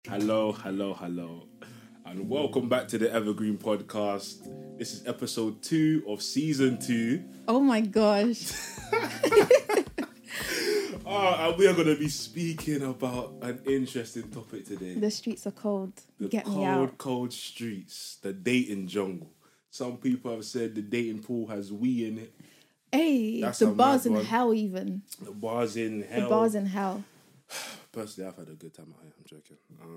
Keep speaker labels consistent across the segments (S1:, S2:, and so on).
S1: Hello, and welcome back to the Evergreen Podcast. This is episode 2 of season 2.
S2: Oh my gosh.
S1: And we are going to be speaking about an interesting topic today.
S2: The streets are cold.
S1: The
S2: Get me out.
S1: cold streets, the dating jungle. Some people have said the dating pool has wee in it.
S2: Hey,
S1: That's
S2: the
S1: a
S2: bars
S1: mad
S2: in
S1: one.
S2: hell even.
S1: The bars in hell.
S2: The bars in hell.
S1: Personally, I've had a good time out here. I'm joking.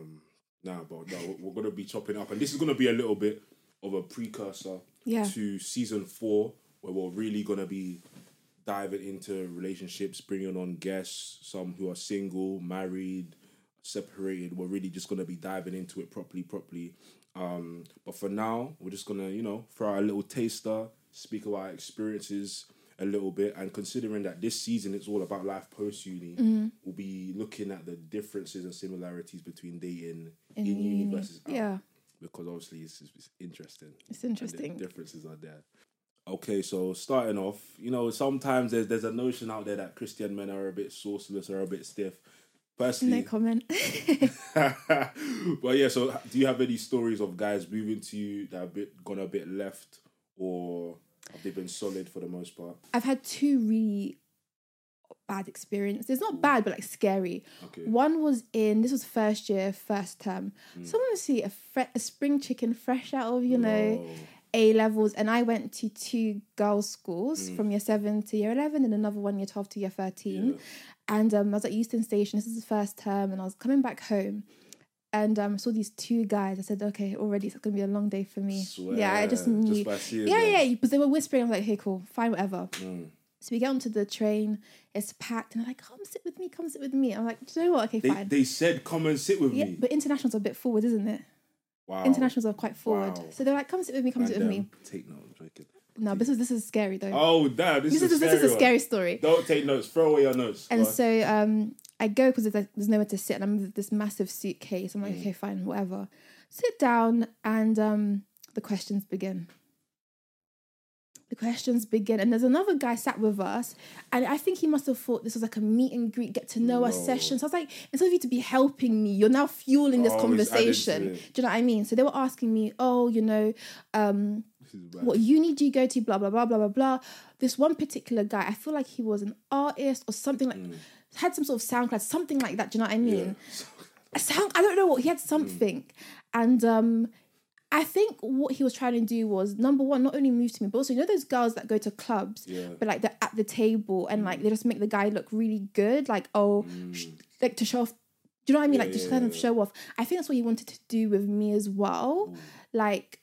S1: We're going to be chopping up. And this is going to be a little bit of a precursor to season 4, where we're really going to be diving into relationships, bringing on guests, some who are single, married, separated. We're really just going to be diving into it properly. But for now, we're just going to, throw out a little taster, speak about our experiences a little bit, and considering that this season is all about life post-uni, we'll be looking at the differences and similarities between dating in uni versus out.
S2: Yeah.
S1: Because obviously it's interesting.
S2: It's interesting.
S1: And the differences are there. Okay, so starting off, sometimes there's a notion out there that Christian men are a bit sauceless or a bit stiff. Personally,
S2: No comment.
S1: But yeah, so do you have any stories of guys moving to you that have gone a bit left, or have they been solid for the most part?
S2: I've had 2 really bad experiences. Not bad, but like scary.
S1: Okay.
S2: One was this was first year, first term. Someone was see a spring chicken fresh out of, A-levels, and I went to 2 girls' schools from year 7 to year 11 and another one year 12 to year 13.
S1: Yeah.
S2: And I was at Euston Station. This is the first term, and I was coming back home. And I saw these 2 guys. I said, okay, already it's going to be a long day for me.
S1: Swear.
S2: Yeah, I just knew.
S1: Just by seeing
S2: Yeah, because they were whispering. I was like, hey, cool, fine, whatever.
S1: Mm.
S2: So we get onto the train. It's packed. And they're like, come sit with me. I'm like, do you know what? Okay, fine.
S1: They said, come and sit with me.
S2: But internationals are a bit forward, isn't it?
S1: Wow.
S2: Internationals are quite forward.
S1: Wow.
S2: So they're like, come sit with me.
S1: Take note, I'm joking.
S2: No, this is scary though.
S1: Oh, damn, this is
S2: a scary story.
S1: Don't take notes. Throw away your notes.
S2: And so I go because there's nowhere to sit, and I'm with this massive suitcase. I'm like, okay, fine, whatever. Sit down, and the questions begin. And there's another guy sat with us, and I think he must have thought this was like a meet and greet, get to know us session. So I was like, instead of you to be helping me, you're now fueling this conversation. Do you know what I mean? So they were asking me, what uni do you go to? Blah, blah, blah, blah, blah, blah. This one particular guy, I feel like he was an artist or something like, had some sort of SoundCloud, something like that. Do you know what I mean? Yeah. I don't know what, he had something. And I think what he was trying to do was, number one, not only move to me, but also, those girls that go to clubs, but like they're at the table and like they just make the guy look really good, like, like to show off. Do you know what I mean? Just kind of show off. I think that's what he wanted to do with me as well. Like,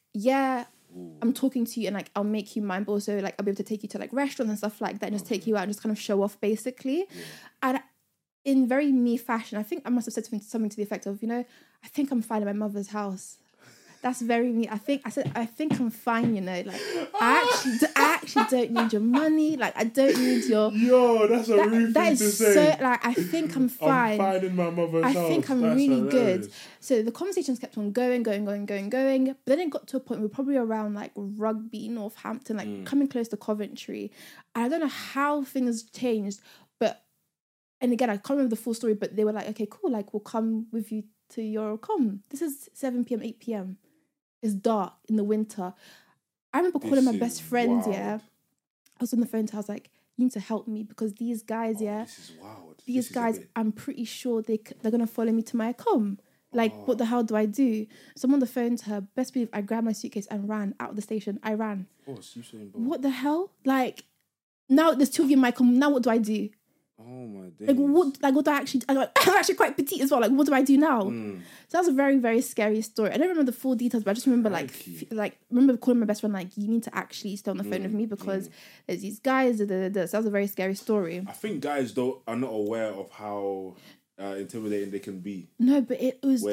S2: I'm talking to you and like I'll make you mine, but also like I'll be able to take you to like restaurants and stuff like that and just take you out and just kind of show off basically. And in very me fashion, I think I must have said something to the effect of, I think I'm fine at my mother's house. That's very me. I think I'm fine, like I actually don't need your money. Like I don't need your.
S1: Yo, that's a rude thing to say.
S2: So like I think I'm fine.
S1: I'm fine in my mother's house.
S2: I think I'm really good. So the conversations kept on going. But then it got to a point where we're probably around like Rugby, Northampton, like coming close to Coventry. And I don't know how things changed, and again I can't remember the full story. But they were like, okay, cool. Like we'll come with you to your com. This is 7 p.m, 8 p.m. It's dark in the winter. I remember calling my best friend, I was on the phone to her, I was like, you need to help me because these guys,
S1: this is wild.
S2: These guys, I'm pretty sure they're going to follow me to my com. Like, what the hell do I do? So I'm on the phone to her. Best believe I grabbed my suitcase and ran out of the station. I ran. What the hell? Like, now there's 2 of you in my com. Now what do I do?
S1: Oh my days.
S2: Like what do I actually... I'm actually quite petite as well. Like, what do I do now? So that was a very, very scary story. I don't remember the full details, but I just remember remember calling my best friend, like, you need to actually stay on the phone with me because there's these guys. So that was a very scary story.
S1: I think guys are not aware of how intimidating they can be.
S2: No, but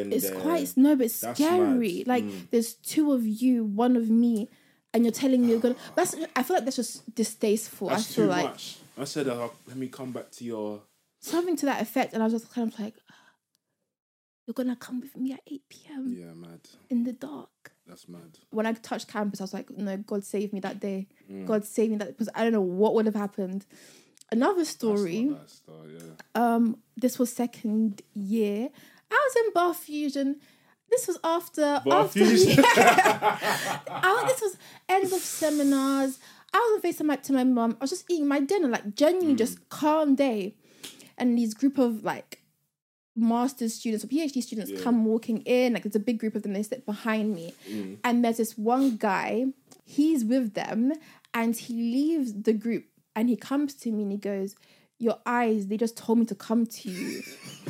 S2: it's scary. Like, there's 2 of you, 1 of me, and you're telling me you're gonna... I feel like that's just distasteful.
S1: That's too much. I said, let me come back to your...
S2: Something to that effect, and I was just kind of like, you're going to come with me at 8 p.m?
S1: Yeah, mad.
S2: In the dark.
S1: That's mad.
S2: When I touched campus, I was like, no, God save me that day. God save me that... Because I don't know what would have happened. Another story. This was second year, I was in Bar Fusion. This was after
S1: Fusion.
S2: This was end of seminars. I was on FaceTime to my mum. I was just eating my dinner, like genuinely just calm day. And these group of like master's students or PhD students come walking in. Like there's a big group of them. They sit behind me. And there's this one guy, he's with them and he leaves the group and he comes to me and he goes, your eyes, they just told me to come to you.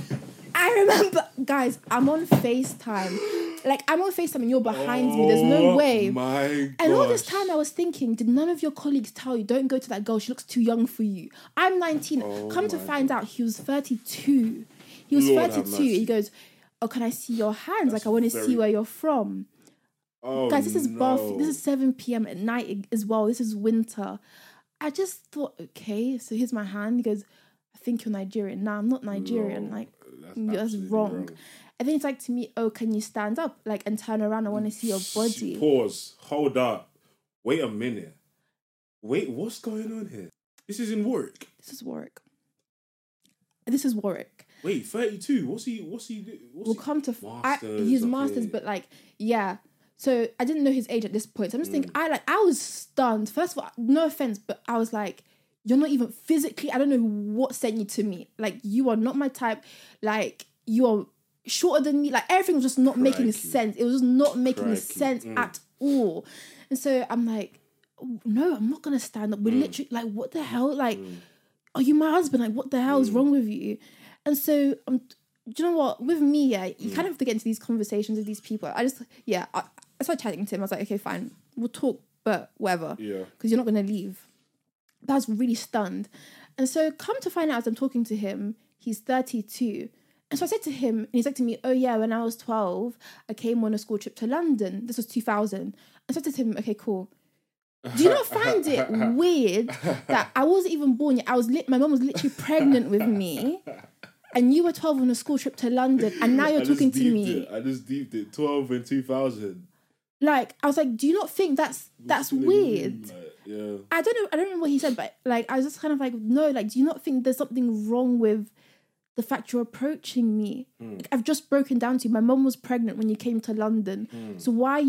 S2: I remember, guys, I'm on FaceTime. Like, I'm on FaceTime and you're behind me. There's no way.
S1: My gosh.
S2: And all this time I was thinking, did none of your colleagues tell you, don't go to that girl, she looks too young for you? I'm 19. Come to find out, he was 32. He was 32. He goes, oh, can I see your hands? Like, I want to see where you're from. Oh, guys, this is this is 7 p.m. at night as well. This is winter. I just thought, okay, so here's my hand. He goes, I think you're Nigerian. Nah, I'm not Nigerian. Like, that's wrong. And then it's like to me, oh, can you stand up? Like, and turn around. I want to see your body.
S1: Pause. Hold up. Wait a minute. Wait, what's going on here? This is in Warwick.
S2: This is Warwick. This is Warwick.
S1: Wait, 32. What's he
S2: we'll come to his masters, but like, yeah. So I didn't know his age at this point. So I'm just thinking, I was stunned. First of all, no offense, but I was like, you're not even physically, I don't know what sent you to me. Like, you are not my type. Like, you are shorter than me. Like, everything was just not making sense. It was just not making sense at all. And so I'm like, no, I'm not going to stand up. We're literally, like, what the hell? Like, are you my husband? Like, what the hell is wrong with you? And so, do you know what? With me, you kind of have to get into these conversations with these people. I started chatting to him. I was like, okay, fine. We'll talk, but whatever. Yeah. Because you're not going to leave. But I was really stunned. And so come to find out as I'm talking to him, he's 32. And so I said to him, and he said to me, oh yeah, when I was 12, I came on a school trip to London. This was 2000. And so I said to him, okay, cool. Do you not find it weird that I wasn't even born yet? My mum was literally pregnant with me. And you were 12 on a school trip to London. And now you're talking to me.
S1: I just deeped it. 12 in 2000.
S2: Like, I was like, do you not think that's weird?
S1: Like, yeah.
S2: I don't know what he said, but like, I was just kind of like, no, like, do you not think there's something wrong with the fact you're approaching me? Like, I've just broken down to you. My mum was pregnant when you came to London. So why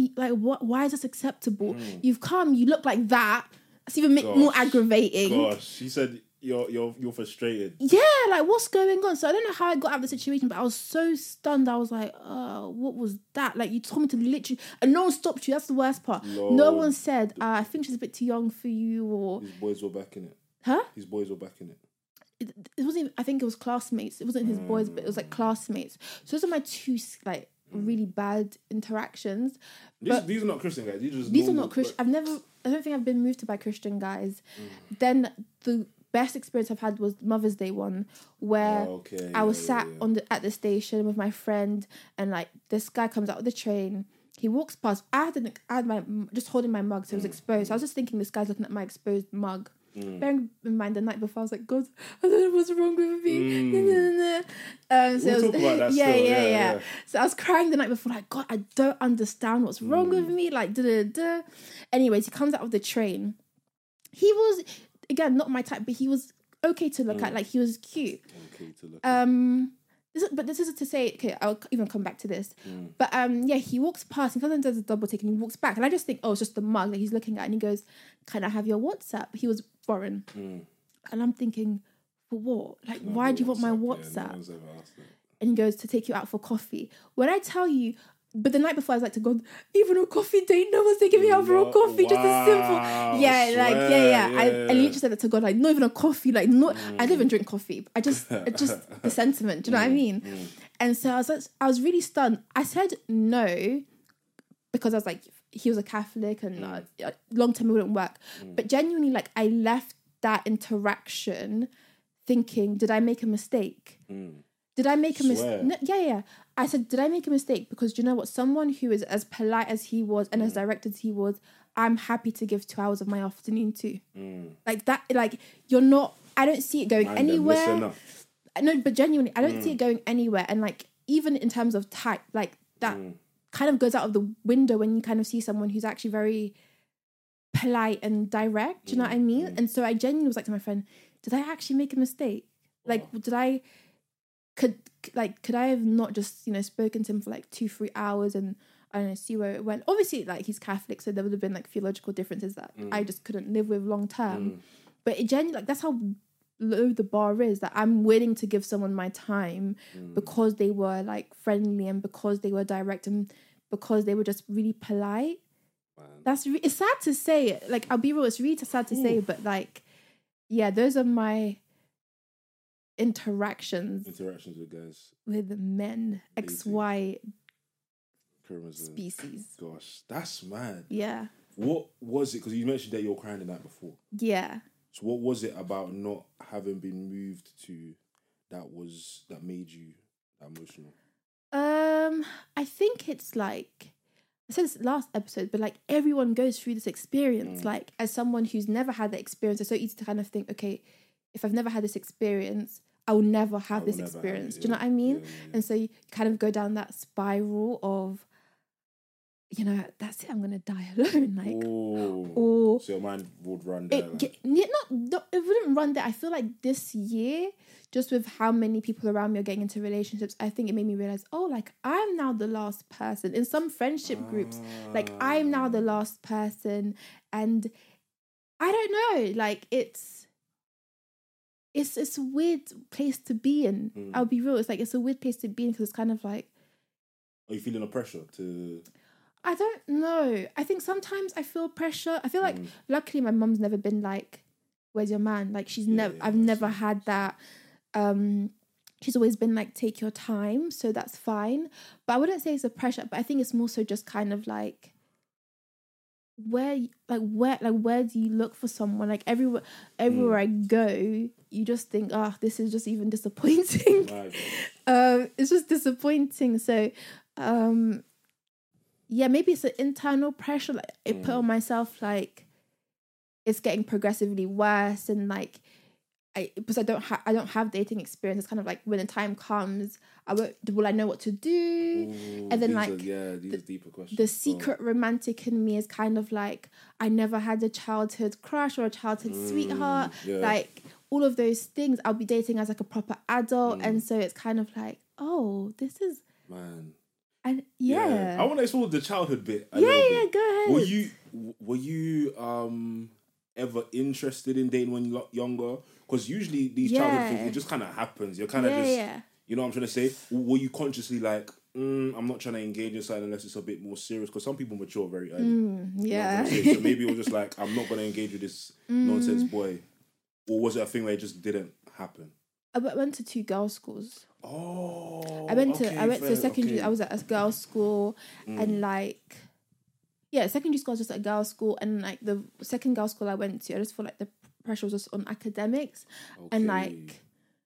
S2: is this acceptable? You've come, you look like that. That's even more aggravating.
S1: Gosh, she said you're frustrated.
S2: Yeah, like, what's going on? So I don't know how I got out of the situation, but I was so stunned. I was like, oh, what was that? Like, you told me to literally, and no one stopped you. That's the worst part. No one said, I think she's a bit too young for you, or
S1: his boys were back in it.
S2: Huh?
S1: His boys were back in it.
S2: It wasn't even, I think it was classmates. It wasn't his boys, but it was like classmates. So those are my two like really bad interactions.
S1: These are not Christian guys.
S2: These are not Christian. I don't think I've been moved to by Christian guys. Then the best experience I've had was Mother's Day one, where I was sat at the station with my friend, and like this guy comes out of the train. He walks past. I had my just holding my mug, so it was exposed. So I was just thinking, this guy's looking at my exposed mug. Bearing in mind, the night before, I was like, God, I don't know what's wrong with me. So
S1: we'll talk about that still. Yeah.
S2: So I was crying the night before, like, God, I don't understand what's wrong with me. Like, da. Anyways, he comes out of the train. He was, again, not my type, but he was okay to look at. Like, he was cute.
S1: Okay to look at.
S2: This is to say, okay, I'll even come back to this. But he walks past and sometimes does a double take and he walks back. And I just think, oh, it's just the mug that he's looking at. And he goes, can I have your WhatsApp? He was foreign. And I'm thinking, for what? Like, why do you want my WhatsApp? Yeah, no one's ever asked that. And he goes, to take you out for coffee. When I tell you, but the night before I was like to God, even a coffee date, no one's taking me out for a coffee, just a simple. I literally said that to God, like, not even a coffee, like, not. I don't even drink coffee. I just the sentiment. Do you know what I mean? And so I was really stunned. I said no because I was like, he was a Catholic and long term it wouldn't work. But genuinely, like, I left that interaction thinking, did I make a mistake? Did I make a mistake? No, yeah. I said, did I make a mistake? Because do you know what? Someone who is as polite as he was and as direct as he was, I'm happy to give 2 hours of my afternoon to. Like that, like, you're not, I don't see it going anywhere. No, but genuinely, I don't see it going anywhere. And like, even in terms of type, like that kind of goes out of the window when you kind of see someone who's actually very polite and direct. Do you know what I mean? And so I genuinely was like to my friend, did I actually make a mistake? Like, could I have not just, you know, spoken to him for like 2-3 hours and I don't know, see where it went. Obviously, like, he's Catholic, so there would have been like theological differences that I just couldn't live with long term. But it genuinely, like, that's how low the bar is, that I'm willing to give someone my time because they were like friendly and because they were direct and because they were just really polite. That's it's sad to say. Like, I'll be real, it's really sad to say, but like, yeah, those are my interactions
S1: with guys,
S2: with men, XY species.
S1: Gosh, that's mad.
S2: Yeah.
S1: What was it? Because you mentioned that you were crying the night before.
S2: Yeah.
S1: So what was it about not having been moved to that made you that emotional?
S2: I think it's like, I said this last episode, but like, everyone goes through this experience. Like, as someone who's never had that experience, it's so easy to kind of think, okay, if I've never had this experience, I will never have this experience. Do you know what I mean? Yeah. And so you kind of go down that spiral of, you know, that's it, I'm going to die alone. Like, or
S1: so your mind would run there.
S2: It wouldn't run there. I feel like this year, just with how many people around me are getting into relationships, I think it made me realize, oh, like, I'm now the last person. In some friendship groups, like, I'm now the last person. And I don't know, like, it's a weird place to be in. I'll be real. It's like, it's a weird place to be in because it's kind of like...
S1: Are you feeling a pressure to...
S2: I don't know. I think sometimes I feel pressure. I feel like, luckily, my mum's never been like, where's your man? Like, she's I've never had that. She's always been like, take your time. So that's fine. But I wouldn't say it's a pressure, but I think it's more so just kind of like, where do you look for someone? Like, everywhere I go, you just think, this is just even disappointing. It's just disappointing. So, yeah, maybe it's an internal pressure like I put on myself, like, it's getting progressively worse, and like, because I don't have dating experience. It's kind of like, when the time comes, will I know what to do? And then
S1: these are deeper questions.
S2: The secret romantic in me is kind of like, I never had a childhood crush or a childhood sweetheart. Like, all of those things, I'll be dating as like a proper adult, and so it's kind of like, oh, this is
S1: man.
S2: And
S1: I want to explore the childhood bit.
S2: Go ahead.
S1: Were you ever interested in dating when you're younger? Because usually these childhood things, it just kind of happens. You're kind of you know what I'm trying to say? Were you consciously like, I'm not trying to engage in something unless it's a bit more serious? Because some people mature very early. You know so maybe it was just like, I'm not going to engage with this nonsense boy. Or was it a thing where it just didn't happen?
S2: I went to 2 girls' schools.
S1: Oh,
S2: I went to secondary. Okay. I was at a girls' school, and like, secondary school was just a girls' school, and like the second girls' school I went to, I just feel like the pressure was just on academics, and like,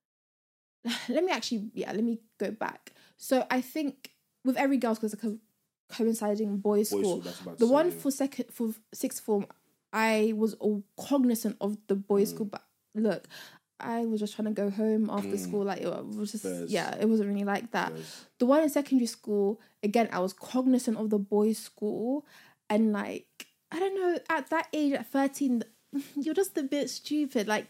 S2: let me go back. So I think with every girls' school, it's like a coinciding boys' school. The one for sixth form, I was all cognizant of the boys' school, but look, I was just trying to go home after school. Like, it was just, it wasn't really like that. The one in secondary school, again, I was cognizant of the boys' school. And like, I don't know, at that age, at 13, you're just a bit stupid. Like,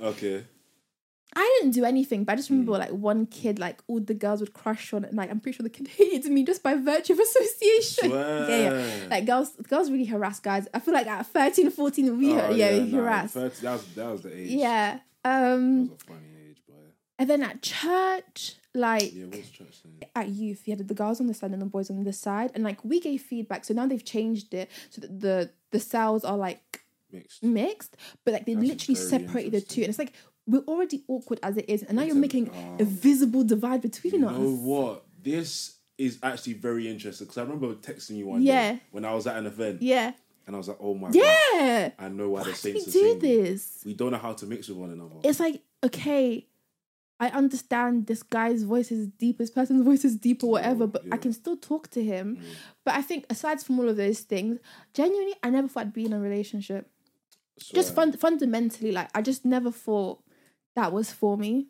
S2: I didn't do anything, but I just remember like one kid, like all the girls would crush on it. And like, I'm pretty sure the kid hated me just by virtue of association. Like, girls really harass guys. I feel like at 13, 14, we harass.
S1: 30, that was the age.
S2: Yeah.
S1: That was a funny age, but...
S2: And then at church, like...
S1: Yeah, what's church saying?
S2: At youth, you had the girls on this side and the boys on this side. And like, we gave feedback. So now they've changed it so that the cells are like... Mixed. But like, they literally separated the two. And it's like, we're already awkward as it is. And now you're making a visible divide between us.
S1: You know what? This is actually very interesting. Because I remember texting you one day when I was at an event.
S2: Yeah.
S1: And I was like, oh my God. I know why the Saints are saying
S2: this.
S1: We don't know how to mix with one another.
S2: It's like, okay, I understand this guy's voice is deep, this person's voice is deep or whatever, but I can still talk to him. But I think aside from all of those things, genuinely, I never thought I'd be in a relationship. Just fundamentally, like, I just never thought that was for me.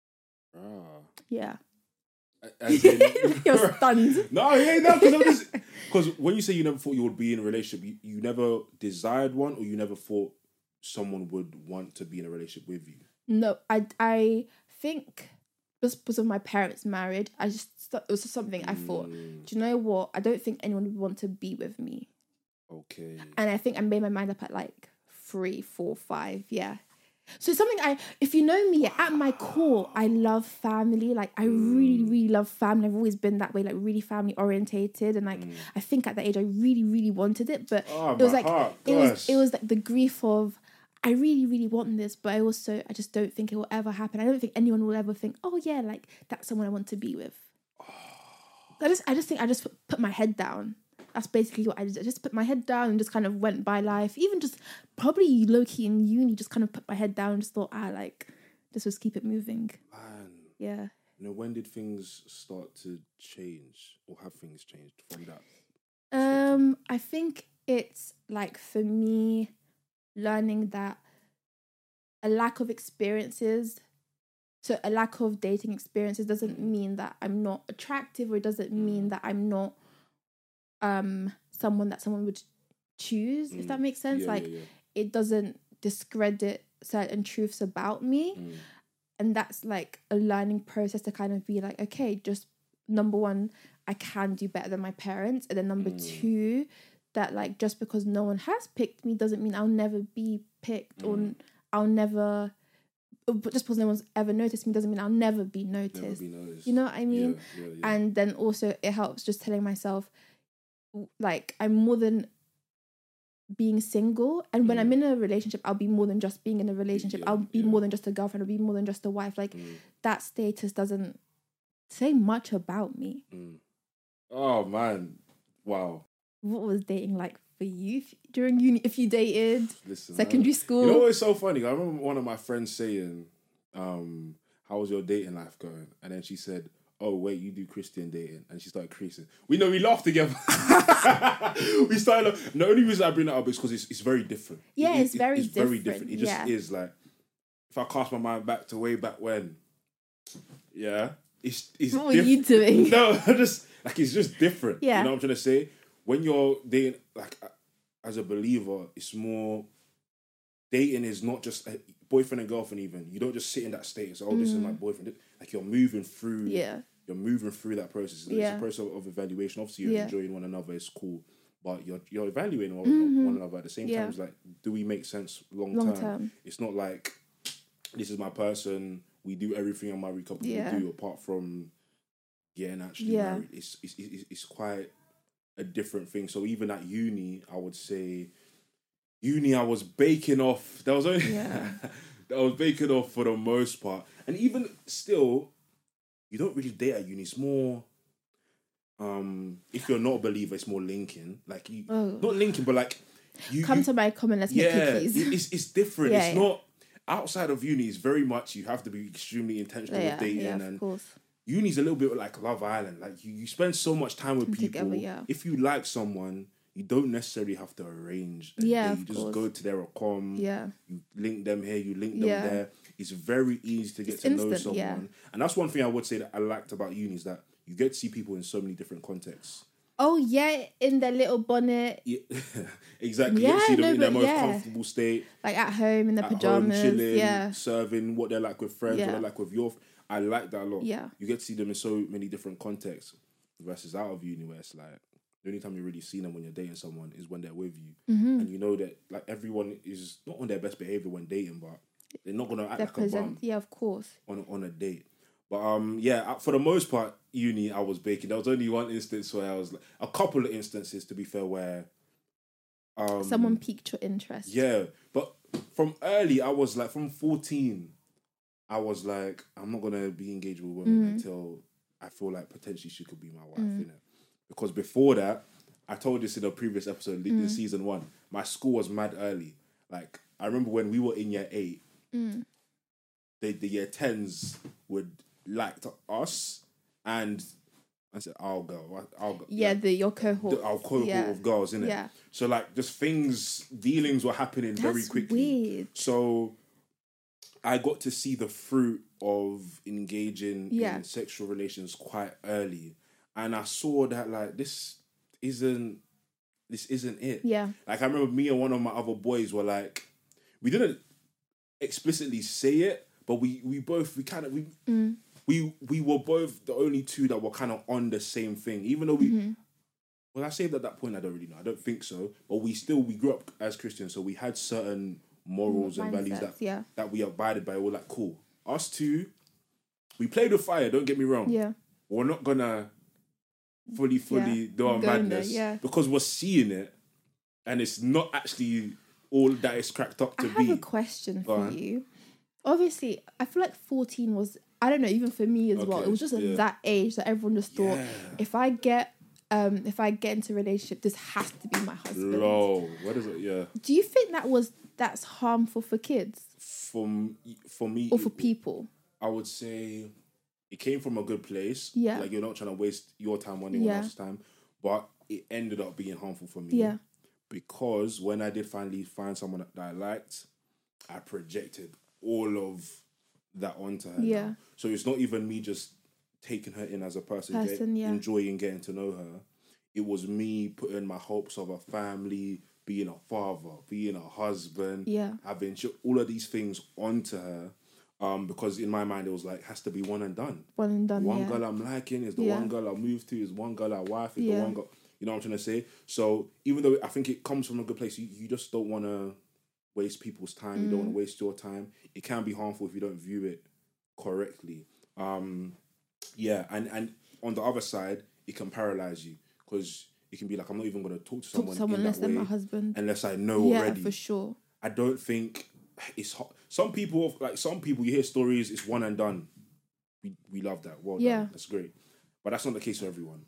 S2: Yeah.
S1: As in,
S2: you're stunned.
S1: Because when you say you never thought you would be in a relationship, you never desired one, or you never thought someone would want to be in a relationship with you?
S2: No, I think just because of my parents married, it was just something I thought, do you know what? I don't think anyone would want to be with me.
S1: Okay.
S2: And I think I made my mind up at like 3, 4, 5. Yeah. So it's something if you know me, at my core, I love family. Like I really, really love family. I've always been that way, like really family orientated. And like, I think at that age, I really, really wanted it. But it was like, it was like the grief of, I really, really want this, but I just don't think it will ever happen. I don't think anyone will ever think, oh yeah, like that's someone I want to be with. I just think I just put my head down. That's basically what I did. I just put my head down and just kind of went by life. Even just probably low-key in uni, just kind of put my head down and just thought, just keep it moving.
S1: Man.
S2: Yeah.
S1: You know, when did things start to change, or have things changed from that?
S2: I think it's like, for me, learning that a lack of experiences, so a lack of dating experiences doesn't mean that I'm not attractive, or it doesn't mean that I'm not someone that someone would choose, if that makes sense. It doesn't discredit certain truths about me. And that's like a learning process to kind of be like, okay, just number one, I can do better than my parents. And then number two, that like, just because no one has picked me doesn't mean I'll never be picked, or I'll never, just because no one's ever noticed me doesn't mean I'll never be noticed. You know what I mean? Yeah. And then also it helps just telling myself, like, I'm more than being single, and when I'm in a relationship, I'll be more than just being in a relationship. I'll be more than just a girlfriend. I'll be more than just a wife. Like, that status doesn't say much about me.
S1: Oh man, wow.
S2: What was dating like for you during uni? If you dated, secondary school?
S1: You know what's so funny? I remember one of my friends saying, "How was your dating life going?" And then she said, "Oh wait, you do Christian dating," and she started creasing. We laughed together. We started. The only reason I bring that up is because it's very different.
S2: Yeah, it's very
S1: different. It just is like, if I cast my mind back to way back when, it's
S2: what were you doing?
S1: No, just like, it's just different.
S2: Yeah,
S1: you know what I'm trying to say. When you're dating, like, as a believer, it's more. Dating is not just a boyfriend and girlfriend. Even you don't just sit in that state and say, "Oh, this is my boyfriend." Like, you're moving through.
S2: Yeah.
S1: You're moving through that process. It's a process of evaluation. Obviously, you're enjoying one another. It's cool, but you're evaluating one another at the same time. It's like, do we make sense long term? It's not like, this is my person. We do everything a married couple would do, apart from getting actually married. It's quite a different thing. So even at uni, I would say, I was baking off. That was only I was baking off for the most part, and even still. You don't really date at uni. It's more, if you're not a believer, it's more linking. Like, not linking, but like,
S2: come to my common, let's make cookies.
S1: It's different. It's not outside of uni. It's very much, you have to be extremely intentional with dating. And
S2: course.
S1: Uni's a little bit like Love Island. Like, you spend so much time with people.
S2: Together,
S1: If you like someone, you don't necessarily have to arrange a date. You just go to their account. You link them here, you link them there. It's very easy to get to know someone. And that's one thing I would say that I liked about uni, is that you get to see people in so many different contexts.
S2: Oh, yeah, in their little bonnet.
S1: Yeah, exactly. You get to see them in their most comfortable state.
S2: Like, at home, in their pajamas.
S1: Home, chilling, serving, what they're like with friends, what they're like with your... I like that a lot.
S2: Yeah.
S1: You get to see them in so many different contexts, versus out of uni, where it's like, the only time you really see them when you're dating someone is when they're with you. And you know that, like, everyone is not on their best behaviour when dating, but they're not going to act like a bum.
S2: Yeah, of course.
S1: On a date. But, for the most part, uni, I was baking. There was only one instance where I was... a couple of instances, to be fair, where...
S2: someone piqued your interest.
S1: Yeah. But from early, I was like, from 14, I was like, I'm not going to be engaged with women until I feel like potentially she could be my wife, innit? Because before that, I told this in a previous episode, in season 1, my school was mad early. Like, I remember when we were in year 8, the year 10s would like us, and I said, I'll go.
S2: Yeah, your cohort.
S1: Our cohort of girls, innit?
S2: Yeah.
S1: So, like, just dealings were happening very quickly.
S2: Weird.
S1: So, I got to see the fruit of engaging in sexual relations quite early. And I saw that, like, this isn't it.
S2: Yeah.
S1: Like, I remember me and one of my other boys were like, we didn't explicitly say it, but we we were both the only two that were kind of on the same thing, even though we. Well, I saved at that point. I don't really know. I don't think so. But we grew up as Christians, so we had certain morals and values that we abided by. We're like, cool. Us two, we played with fire. Don't get me wrong.
S2: Yeah.
S1: We're not gonna fully do our madness because we're seeing it, and it's not actually all that it's cracked up to be.
S2: I have a question for you. Obviously, I feel like 14 was, I don't know, even for me as well. It was just at that age that everyone just thought, if I get into a relationship, this has to be my husband.
S1: No, what is it? Yeah.
S2: Do you think that's harmful for kids?
S1: For me,
S2: or for people?
S1: I would say it came from a good place.
S2: Yeah.
S1: Like, you're not trying to waste your time or anyone else's time, but it ended up being harmful for me.
S2: Yeah.
S1: Because when I did finally find someone that I liked, I projected all of that onto her.
S2: Yeah.
S1: Now. So it's not even me just taking her in as a person enjoying getting to know her. It was me putting my hopes of a family, being a father, being a husband, having all of these things onto her. Because in my mind it was like, has to be one and done.
S2: One and done.
S1: One girl I'm liking is the one girl I move to, is one girl I wife, is the one girl. You know what I'm trying to say? So even though I think it comes from a good place, you just don't want to waste people's time. You don't want to waste your time. It can be harmful if you don't view it correctly. And on the other side, it can paralyze you because it can be like, I'm not even going to talk to someone
S2: unless they're my husband,
S1: unless I know already.
S2: Yeah, for sure.
S1: I don't think it's hot. Some people you hear stories, it's one and done. We love that. Well done. That's great. But that's not the case for everyone.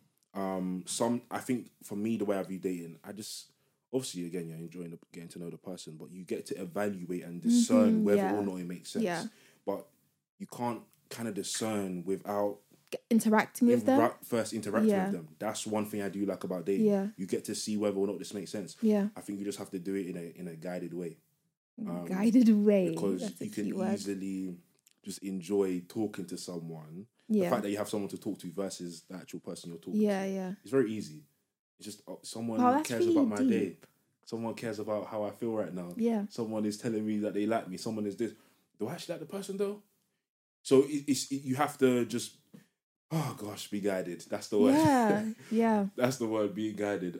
S1: I think for me, the way I view dating, I just, obviously, again, you're enjoying getting to know the person, but you get to evaluate and discern whether or not it makes sense. Yeah. But you can't kind of discern without
S2: interacting with them.
S1: First interacting with them. That's one thing I do like about dating. Yeah. You get to see whether or not this makes sense.
S2: Yeah.
S1: I think you just have to do it in a guided way.
S2: Guided way.
S1: Because you can easily just enjoy talking to someone. The fact that you have someone to talk to versus the actual person you're talking to. Yeah. It's very easy. It's just someone cares really about my day. Someone cares about how I feel right now.
S2: Yeah.
S1: Someone is telling me that they like me. Someone is this. Do I actually like the person though? So you have to just, oh gosh, be guided. That's the word.
S2: Yeah.
S1: That's the word, being guided.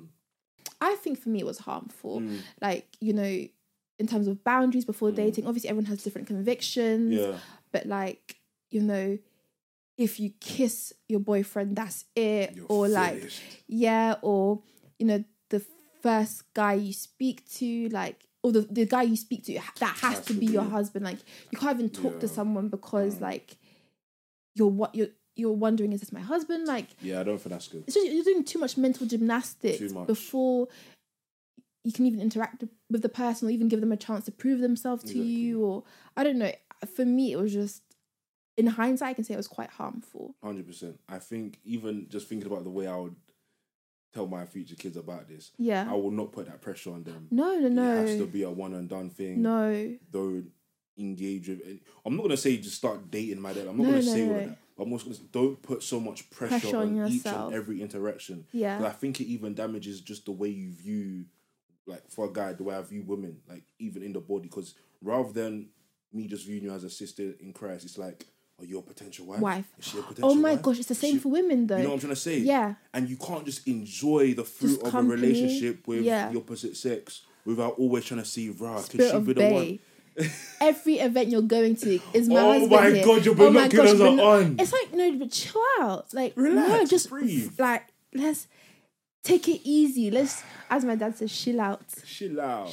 S2: I think for me it was harmful. Like, you know, in terms of boundaries before dating, obviously everyone has different convictions. Yeah. But like, you know, if you kiss your boyfriend, that's it.
S1: You're
S2: or
S1: finished.
S2: Like, or, you know, the first guy you speak to, like, or the guy you speak to, that has to be your husband. Like, you can't even talk to someone because, like, you're wondering, is this my husband? Like,
S1: yeah, I don't think that's good.
S2: It's just, you're doing too much mental gymnastics before you can even interact with the person or even give them a chance to prove themselves to you. Or, I don't know. For me, it was just, in hindsight, I can say it was quite harmful.
S1: 100%. I think even just thinking about the way I would tell my future kids about this,
S2: I
S1: will not put that pressure on them.
S2: No.
S1: It has to be a one and done thing.
S2: No.
S1: Don't engage with it. I'm not going to say just start dating my dad. I'm not going to say all of that. But I'm also going to don't put so much pressure on each and every interaction.
S2: Yeah.
S1: I think it even damages just the way you view, like for a guy, the way I view women, like even in the body. Because rather than me just viewing you as a sister in Christ, it's like, are you a potential wife? Is she a potential wife?
S2: Oh my gosh, it's the same for women though.
S1: You know what I'm trying to say?
S2: Yeah.
S1: And you can't just enjoy the fruit of a relationship with the opposite sex without always trying to see, could she be the one?
S2: Every event you're going to is my husband.
S1: Oh my god, your binoculars are on.
S2: It's like, no, but chill out. Like,
S1: relax,
S2: no, just
S1: breathe.
S2: Like, let's take it easy. Let's, as my dad says, chill out.
S1: Chill out.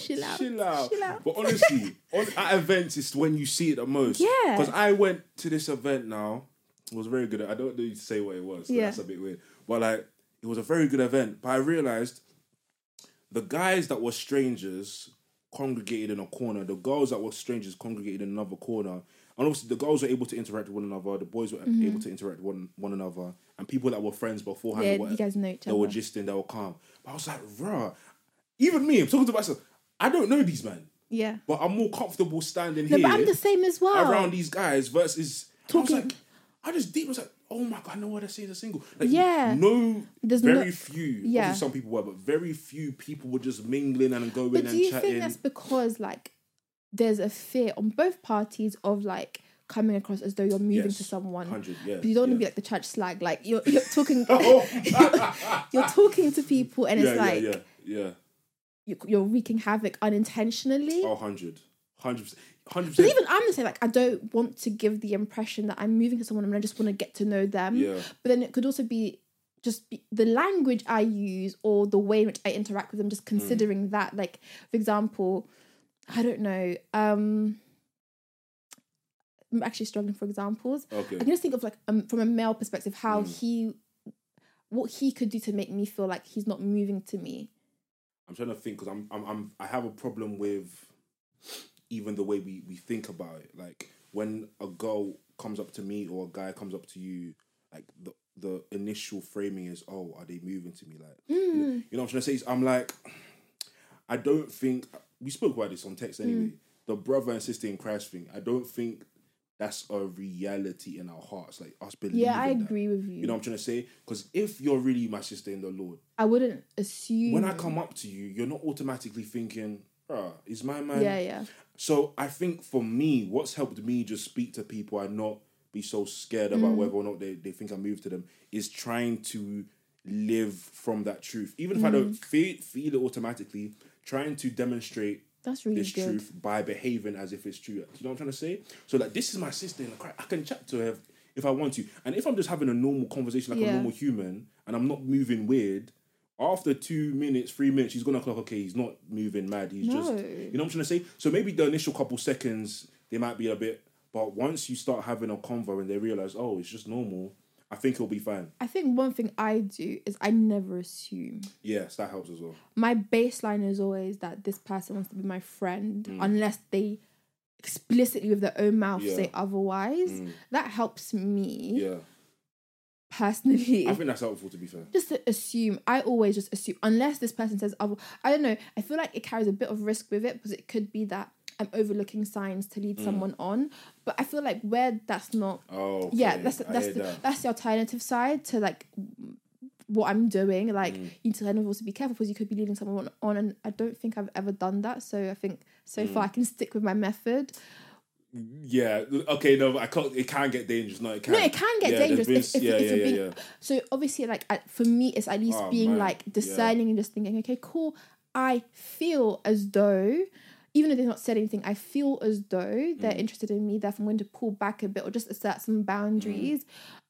S1: But honestly, at events, it's when you see it the most.
S2: Yeah.
S1: Because I went to this event now. It was very good. I don't need to say what it was. So that's a bit weird. But like, it was a very good event. But I realised the guys that were strangers congregated in a corner. The girls that were strangers congregated in another corner. And obviously the girls were able to interact with one another. The boys were able to interact with one another. And people that were friends beforehand,
S2: you guys know each other.
S1: They were gisting, they were calm. But I was like, even me, I'm talking to myself, I don't know these men.
S2: Yeah.
S1: But I'm more comfortable standing here.
S2: But I'm the same as well.
S1: Around these guys versus talking. I was like, oh my God, I know what they're saying, they're single. Like, very few. Yeah. Obviously some people were, but very few people were just mingling and going and chatting.
S2: But do you think that's because, like, there's a fear on both parties of, like, coming across as though you're moving
S1: Yes.
S2: to someone.
S1: 100, yeah.
S2: But you don't want to
S1: yeah.
S2: be like the church slag. Like you're talking, you're talking to people, and it's like
S1: yeah.
S2: you're wreaking havoc unintentionally.
S1: Oh, 100%.
S2: But even I'm the same. Like I don't want to give the impression that I'm moving to someone and I just want to get to know them.
S1: Yeah.
S2: But then it could also be the language I use or the way in which I interact with them. Just considering that, like for example, I don't know. I'm actually struggling for examples.
S1: Okay.
S2: I can just think of like from a male perspective how what he could do to make me feel like he's not moving to me.
S1: I'm trying to think because I have a problem with even the way we think about it. Like when a girl comes up to me or a guy comes up to you, like the initial framing is, oh, are they moving to me? Like you know what I'm trying to say? I'm like, I don't think we spoke about this on text anyway. The brother and sister in Christ thing. I don't think that's a reality in our hearts. Like us believing.
S2: Yeah, I agree with you.
S1: You know what I'm trying to say? Because if you're really my sister in the Lord,
S2: I wouldn't assume.
S1: When I come up to you, you're not automatically thinking, is my man?
S2: Yeah.
S1: So I think for me, what's helped me just speak to people and not be so scared about whether or not they think I move to them is trying to live from that truth. Even if I don't feel it automatically, trying to demonstrate
S2: that's really
S1: this
S2: good.
S1: truth by behaving as if it's true. You know what I'm trying to say? So like, this is my sister in the Christ. I can chat to her if I want to. And if I'm just having a normal conversation like a normal human and I'm not moving weird, after 2 minutes, 3 minutes, she's gonna clock, okay, he's not moving mad. He's just, you know what I'm trying to say? So maybe the initial couple seconds, they might be a bit, but once you start having a convo and they realize, oh, it's just normal, I think it'll be fine.
S2: I think one thing I do is I never assume.
S1: Yes, that helps as well.
S2: My baseline is always that this person wants to be my friend unless they explicitly with their own mouth say otherwise. That helps me.
S1: Yeah.
S2: Personally,
S1: I think that's helpful, to be fair.
S2: Just to assume. I always just assume unless this person says other. I don't know. I feel like it carries a bit of risk with it because it could be that I'm overlooking signs to lead someone on. But I feel like where that's not.
S1: Oh, okay.
S2: Yeah, that's the alternative side to like what I'm doing. Like you need to kind of also be careful because you could be leading someone on, and I don't think I've ever done that. So I think so far I can stick with my method.
S1: Yeah. Okay. No, I can't. It can get dangerous. No, it can.
S2: No, it can get dangerous. So obviously, like for me, it's at least being like discerning and just thinking, okay, cool. I feel as though, even if they've not said anything, I feel as though they're interested in me. Therefore, I'm going to pull back a bit or just assert some boundaries.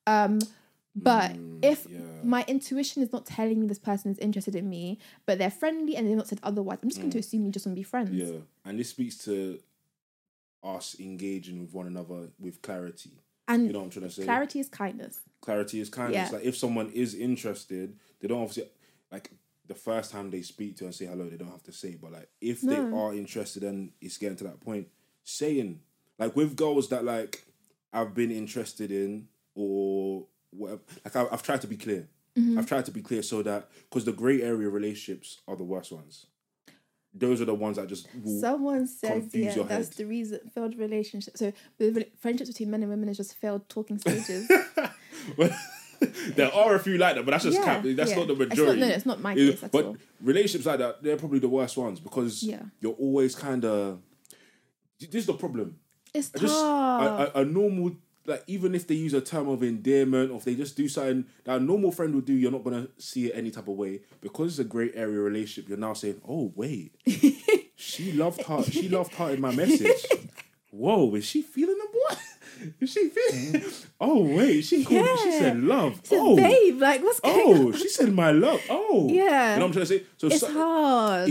S2: But if my intuition is not telling me this person is interested in me, but they're friendly and they've not said otherwise, I'm just going to assume you just want to be friends.
S1: Yeah, and this speaks to us engaging with one another with clarity.
S2: And
S1: you know what I'm trying to say?
S2: Clarity is kindness.
S1: Clarity is kindness.
S2: Yeah.
S1: Like if someone is interested, they don't obviously like the first time they speak to and say hello, they don't have to say. But like if they are interested and it's getting to that point, saying like with girls that like I've been interested in or whatever, like I've tried to be clear. I've tried to be clear so that because the grey area relationships are the worst ones. Those are the ones that just
S2: someone said
S1: your
S2: that's
S1: head.
S2: The reason failed relationship. So friendships between men and women is just failed talking stages.
S1: There are a few like that, but that's just that's not the majority.
S2: It's not my case at all.
S1: But relationships like that, they're probably the worst ones because you're always kind of. This is the problem.
S2: It's tough.
S1: A normal, like even if they use a term of endearment or if they just do something that a normal friend would do, you're not gonna see it any type of way because it's a great area relationship. You're now saying, "Oh wait, she loved her in my message. Whoa, is she feeling the boy? Is she feeling? Oh wait, she called. She said love.
S2: She said, babe, like what's going on?
S1: She said my love. Oh,
S2: yeah.
S1: You know what I'm trying to say? So
S2: it's hard.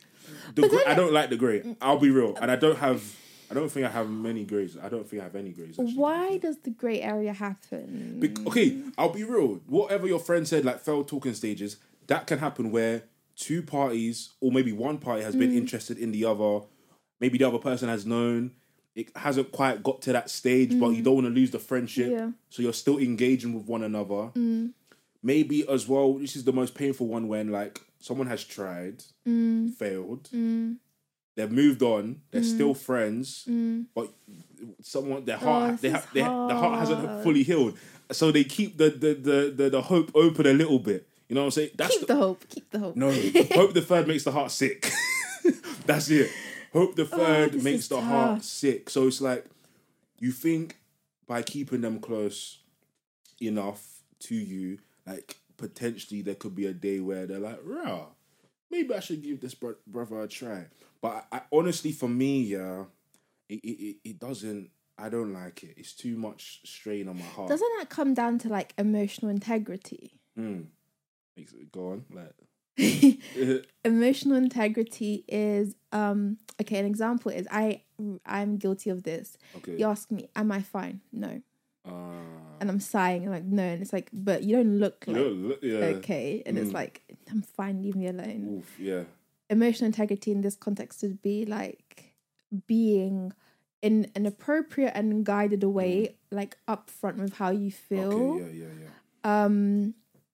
S1: I don't like the grey. I'll be real, and I don't think I have many greys. I don't think I have any greys. Actually.
S2: Why does the grey area happen?
S1: Okay, I'll be real. Whatever your friend said, like failed talking stages, that can happen where two parties or maybe one party has been interested in the other. Maybe the other person has known. It hasn't quite got to that stage, but you don't want to lose the friendship. So you're still engaging with one another. Maybe as well, this is the most painful one when like someone has tried, failed. They've moved on. They're still friends, but the heart hasn't fully healed. So they keep the hope open a little bit. You know what I'm saying?
S2: Keep the hope.
S1: No, hope deferred makes the heart sick. That's it. Hope deferred makes the heart sick. So it's like you think by keeping them close enough to you, like potentially there could be a day where they're like, rah, maybe I should give this brother a try. But I honestly, for me, yeah, it doesn't. I don't like it. It's too much strain on my heart.
S2: Doesn't that come down to like emotional integrity?
S1: Go on, like.
S2: Emotional integrity is okay. An example is I'm guilty of this.
S1: Okay.
S2: You ask me, am I fine? No. And I'm sighing and like no, and it's like, but you don't look like okay, and it's like I'm fine, leave me alone.
S1: Oof, yeah.
S2: Emotional integrity in this context would be like being in an appropriate and guided way, like upfront with how you feel.
S1: Okay, yeah.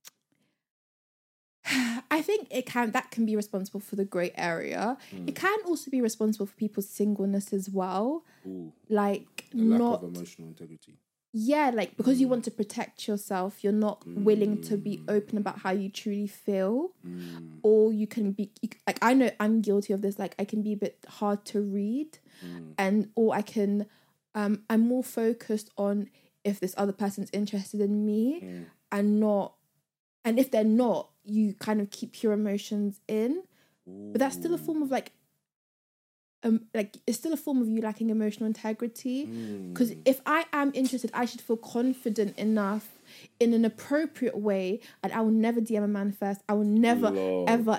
S2: I think that can be responsible for the grey area. It can also be responsible for people's singleness as well.
S1: Ooh.
S2: Like
S1: the lack of emotional integrity.
S2: Yeah, like because you want to protect yourself, you're not willing to be open about how you truly feel. Or you can be like, I know I'm guilty of this. Like I can be a bit hard to read, or I can, I'm more focused on if this other person's interested in me and if they're not, you kind of keep your emotions in. Ooh. But that's still a form of like it's still a form of you lacking emotional integrity. Because if I am interested, I should feel confident enough in an appropriate way, and I will never DM a man first. I will never, ever,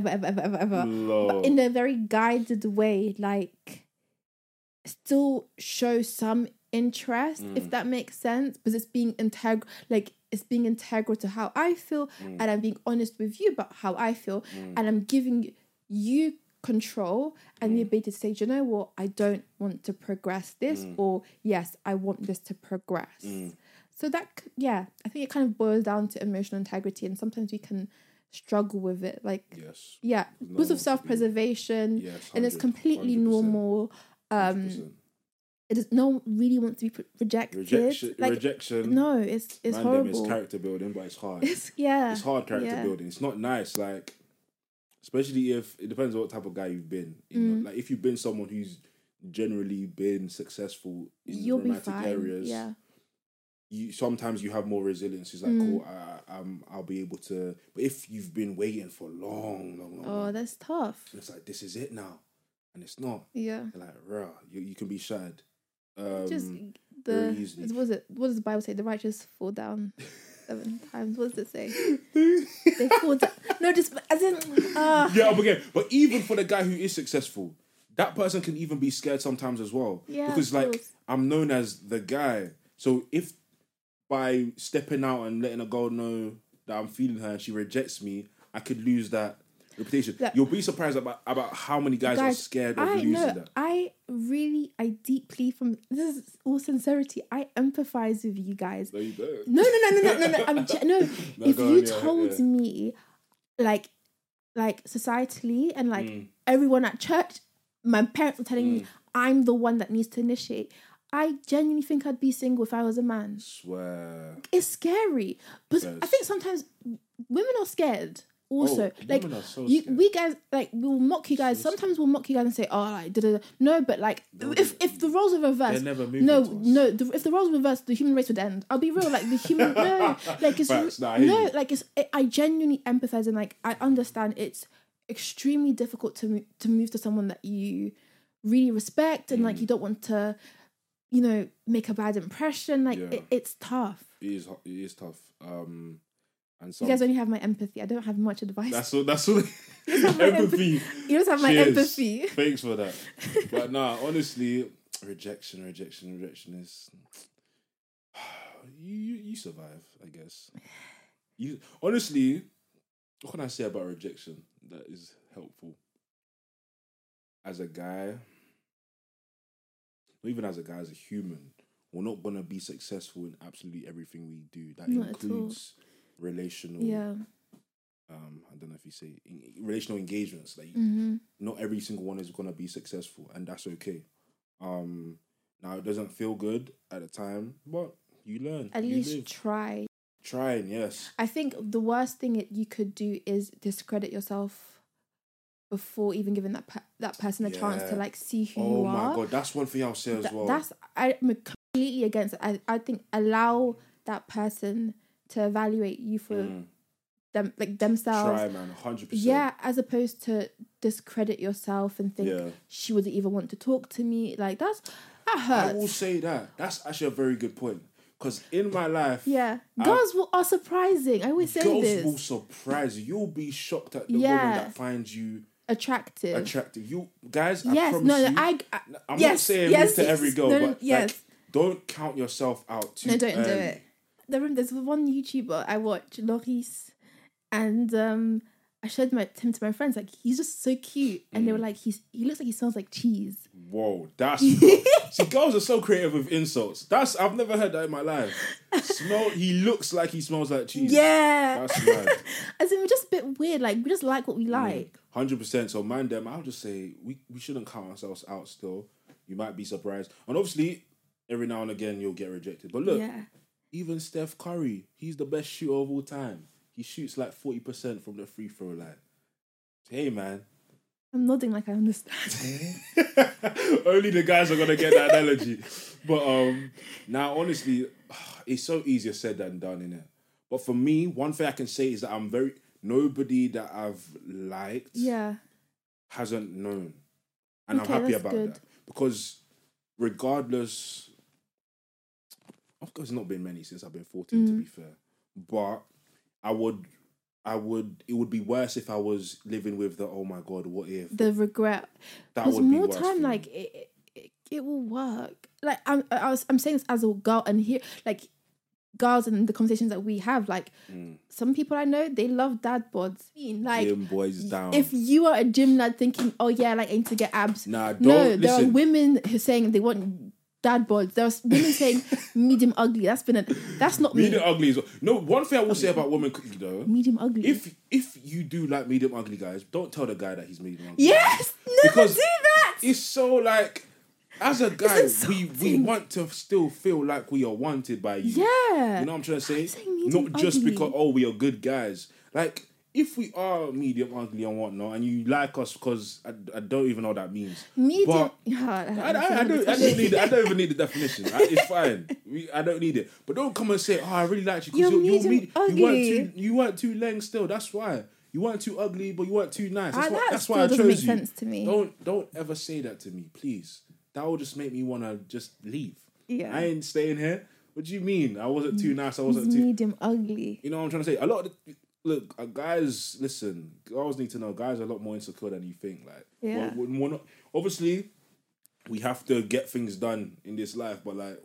S2: but in a very guided way, like still show some interest, if that makes sense, because it's being integral, like it's being integral to how I feel, and I'm being honest with you about how I feel, and I'm giving you control and the ability to say, do you know what, I don't want to progress this, or yes, I want this to progress. So that, I think it kind of boils down to emotional integrity, and sometimes we can struggle with it, like because of self-preservation, and it's completely 100%. Normal. 100%. It is, no one really wants to be rejected. Rejection. No, it's horrible.
S1: It's character building, but it's hard.
S2: It's
S1: hard character building. It's not nice. Like, especially if it depends on what type of guy you've been. You know, like if you've been someone who's generally been successful in romantic areas. Yeah. Sometimes you have more resilience. It's like, cool, I'll be able to. But if you've been waiting for long,
S2: that's tough.
S1: It's like, this is it now, and it's not.
S2: Yeah.
S1: You're like, rah, you can be shattered.
S2: Just what does the Bible say? The righteous fall down 7 times. What does it say? They fall down. No, just as in.
S1: But even for the guy who is successful, that person can even be scared sometimes as well. Yeah, because like I'm known as the guy. So if by stepping out and letting a girl know that I'm feeling her and she rejects me, I could lose that reputation. You'll be surprised about how many guys are scared of losing that. I
S2: deeply, from this is all sincerity, I empathize with you guys.
S1: No, you don't.
S2: No. If you told me, like societally and like everyone at church, my parents were telling me I'm the one that needs to initiate, I genuinely think I'd be single if I was a man.
S1: Swear.
S2: It's scary. But I think sometimes women are scared. Also, we guys, like, we'll mock you guys. Sometimes we'll mock you guys and say, "Oh, like, da-da-da." No, but like, if the roles were reversed, if the roles were reversed, the human race would end. I'll be real, like the human, I genuinely empathize, and like I understand it's extremely difficult to move to someone that you really respect, and like you don't want to, make a bad impression. Like it's tough.
S1: It is tough. And
S2: you guys only have my empathy. I don't have much advice.
S1: That's all. Empathy.
S2: You just have my empathy.
S1: Thanks for that. But nah, honestly, rejection is. You survive, I guess. You honestly, what can I say about rejection that is helpful? As a guy, or even as a human, we're not gonna be successful in absolutely everything we do. That includes relational. I don't know if you say relational engagements. Like, not every single one is gonna be successful, and that's okay. Now it doesn't feel good at the time, but you learn.
S2: At least try.
S1: Trying, yes.
S2: I think the worst thing you could do is discredit yourself before even giving that person a chance to like see who you are.
S1: Oh my god, that's one thing I'll say as well.
S2: I'm a completely against it. I think allow that person to evaluate you for them, like themselves.
S1: Try, man, 100%.
S2: Yeah, as opposed to discredit yourself and think she wouldn't even want to talk to me. Like that hurts.
S1: I will say that. That's actually a very good point. Because in my life,
S2: girls are surprising. I always say this.
S1: Girls will surprise you. You'll be shocked at the woman that finds you
S2: attractive.
S1: You guys, I promise you. I'm not saying this to every girl, but like, don't count yourself out too.
S2: No, don't do it. There's one YouTuber I watch, Loris, and I showed him to my friends. Like, he's just so cute, and they were like, he looks like he smells like cheese.
S1: Whoa, that's see, girls are so creative with insults. I've never heard that in my life. He looks like he smells like cheese.
S2: Yeah,
S1: that's mad.
S2: As in, we're just a bit weird. Like, we just like what we like.
S1: 100%. So, man, I'll just say we shouldn't count ourselves out. Still, you might be surprised, and obviously, every now and again you'll get rejected. But look, even Steph Curry, he's the best shooter of all time. He shoots like 40% from the free throw line. Hey, man.
S2: I'm nodding like I understand.
S1: Only the guys are gonna get that analogy. But now, honestly, it's so easier said than done, innit? But for me, one thing I can say is that nobody that I've liked hasn't known. And I'm happy about that. Because regardless, of course, it's not been many since I've been 14, to be fair. But it would be worse if I was living with the, oh my God, what if?
S2: The regret.
S1: That would be worse.
S2: More time, like, it will work. Like, I'm saying this as a girl, and here, like, girls and the conversations that we have, like, some people I know, they love dad bods. Like,
S1: gym boys down.
S2: If you are a gym lad thinking, oh yeah, like, I need to get abs.
S1: Nah, don't
S2: listen.
S1: There
S2: are women who are saying they want dad bods. There's women saying medium ugly. That's not
S1: medium ugly is no. One thing I will say about women cooking though,
S2: medium ugly.
S1: If you do like medium ugly guys, don't tell the guy that he's medium ugly.
S2: Yes, never do that.
S1: It's so like, as a guy, we want to still feel like we are wanted by you.
S2: Yeah,
S1: you know what I'm trying to say. Not just ugly. Because we are good guys. Like, if we are medium ugly and whatnot, and you like us, because I don't even know what that means.
S2: Medium.
S1: But I don't need. I don't even need the definition. It's fine. I don't need it. But don't come and say, "Oh, I really like you," because you weren't too leng still. That's why you weren't too ugly, but you weren't too nice. That's why I chose you. Make sense to me. Don't ever say that to me, please. That will just make me want to just leave. Yeah, I ain't staying here. What do you mean? I wasn't too nice. I wasn't too
S2: medium ugly.
S1: You know what I'm trying to say? A lot of look, guys, listen, girls need to know guys are a lot more insecure than you think. Like, we're not, obviously, we have to get things done in this life, but like,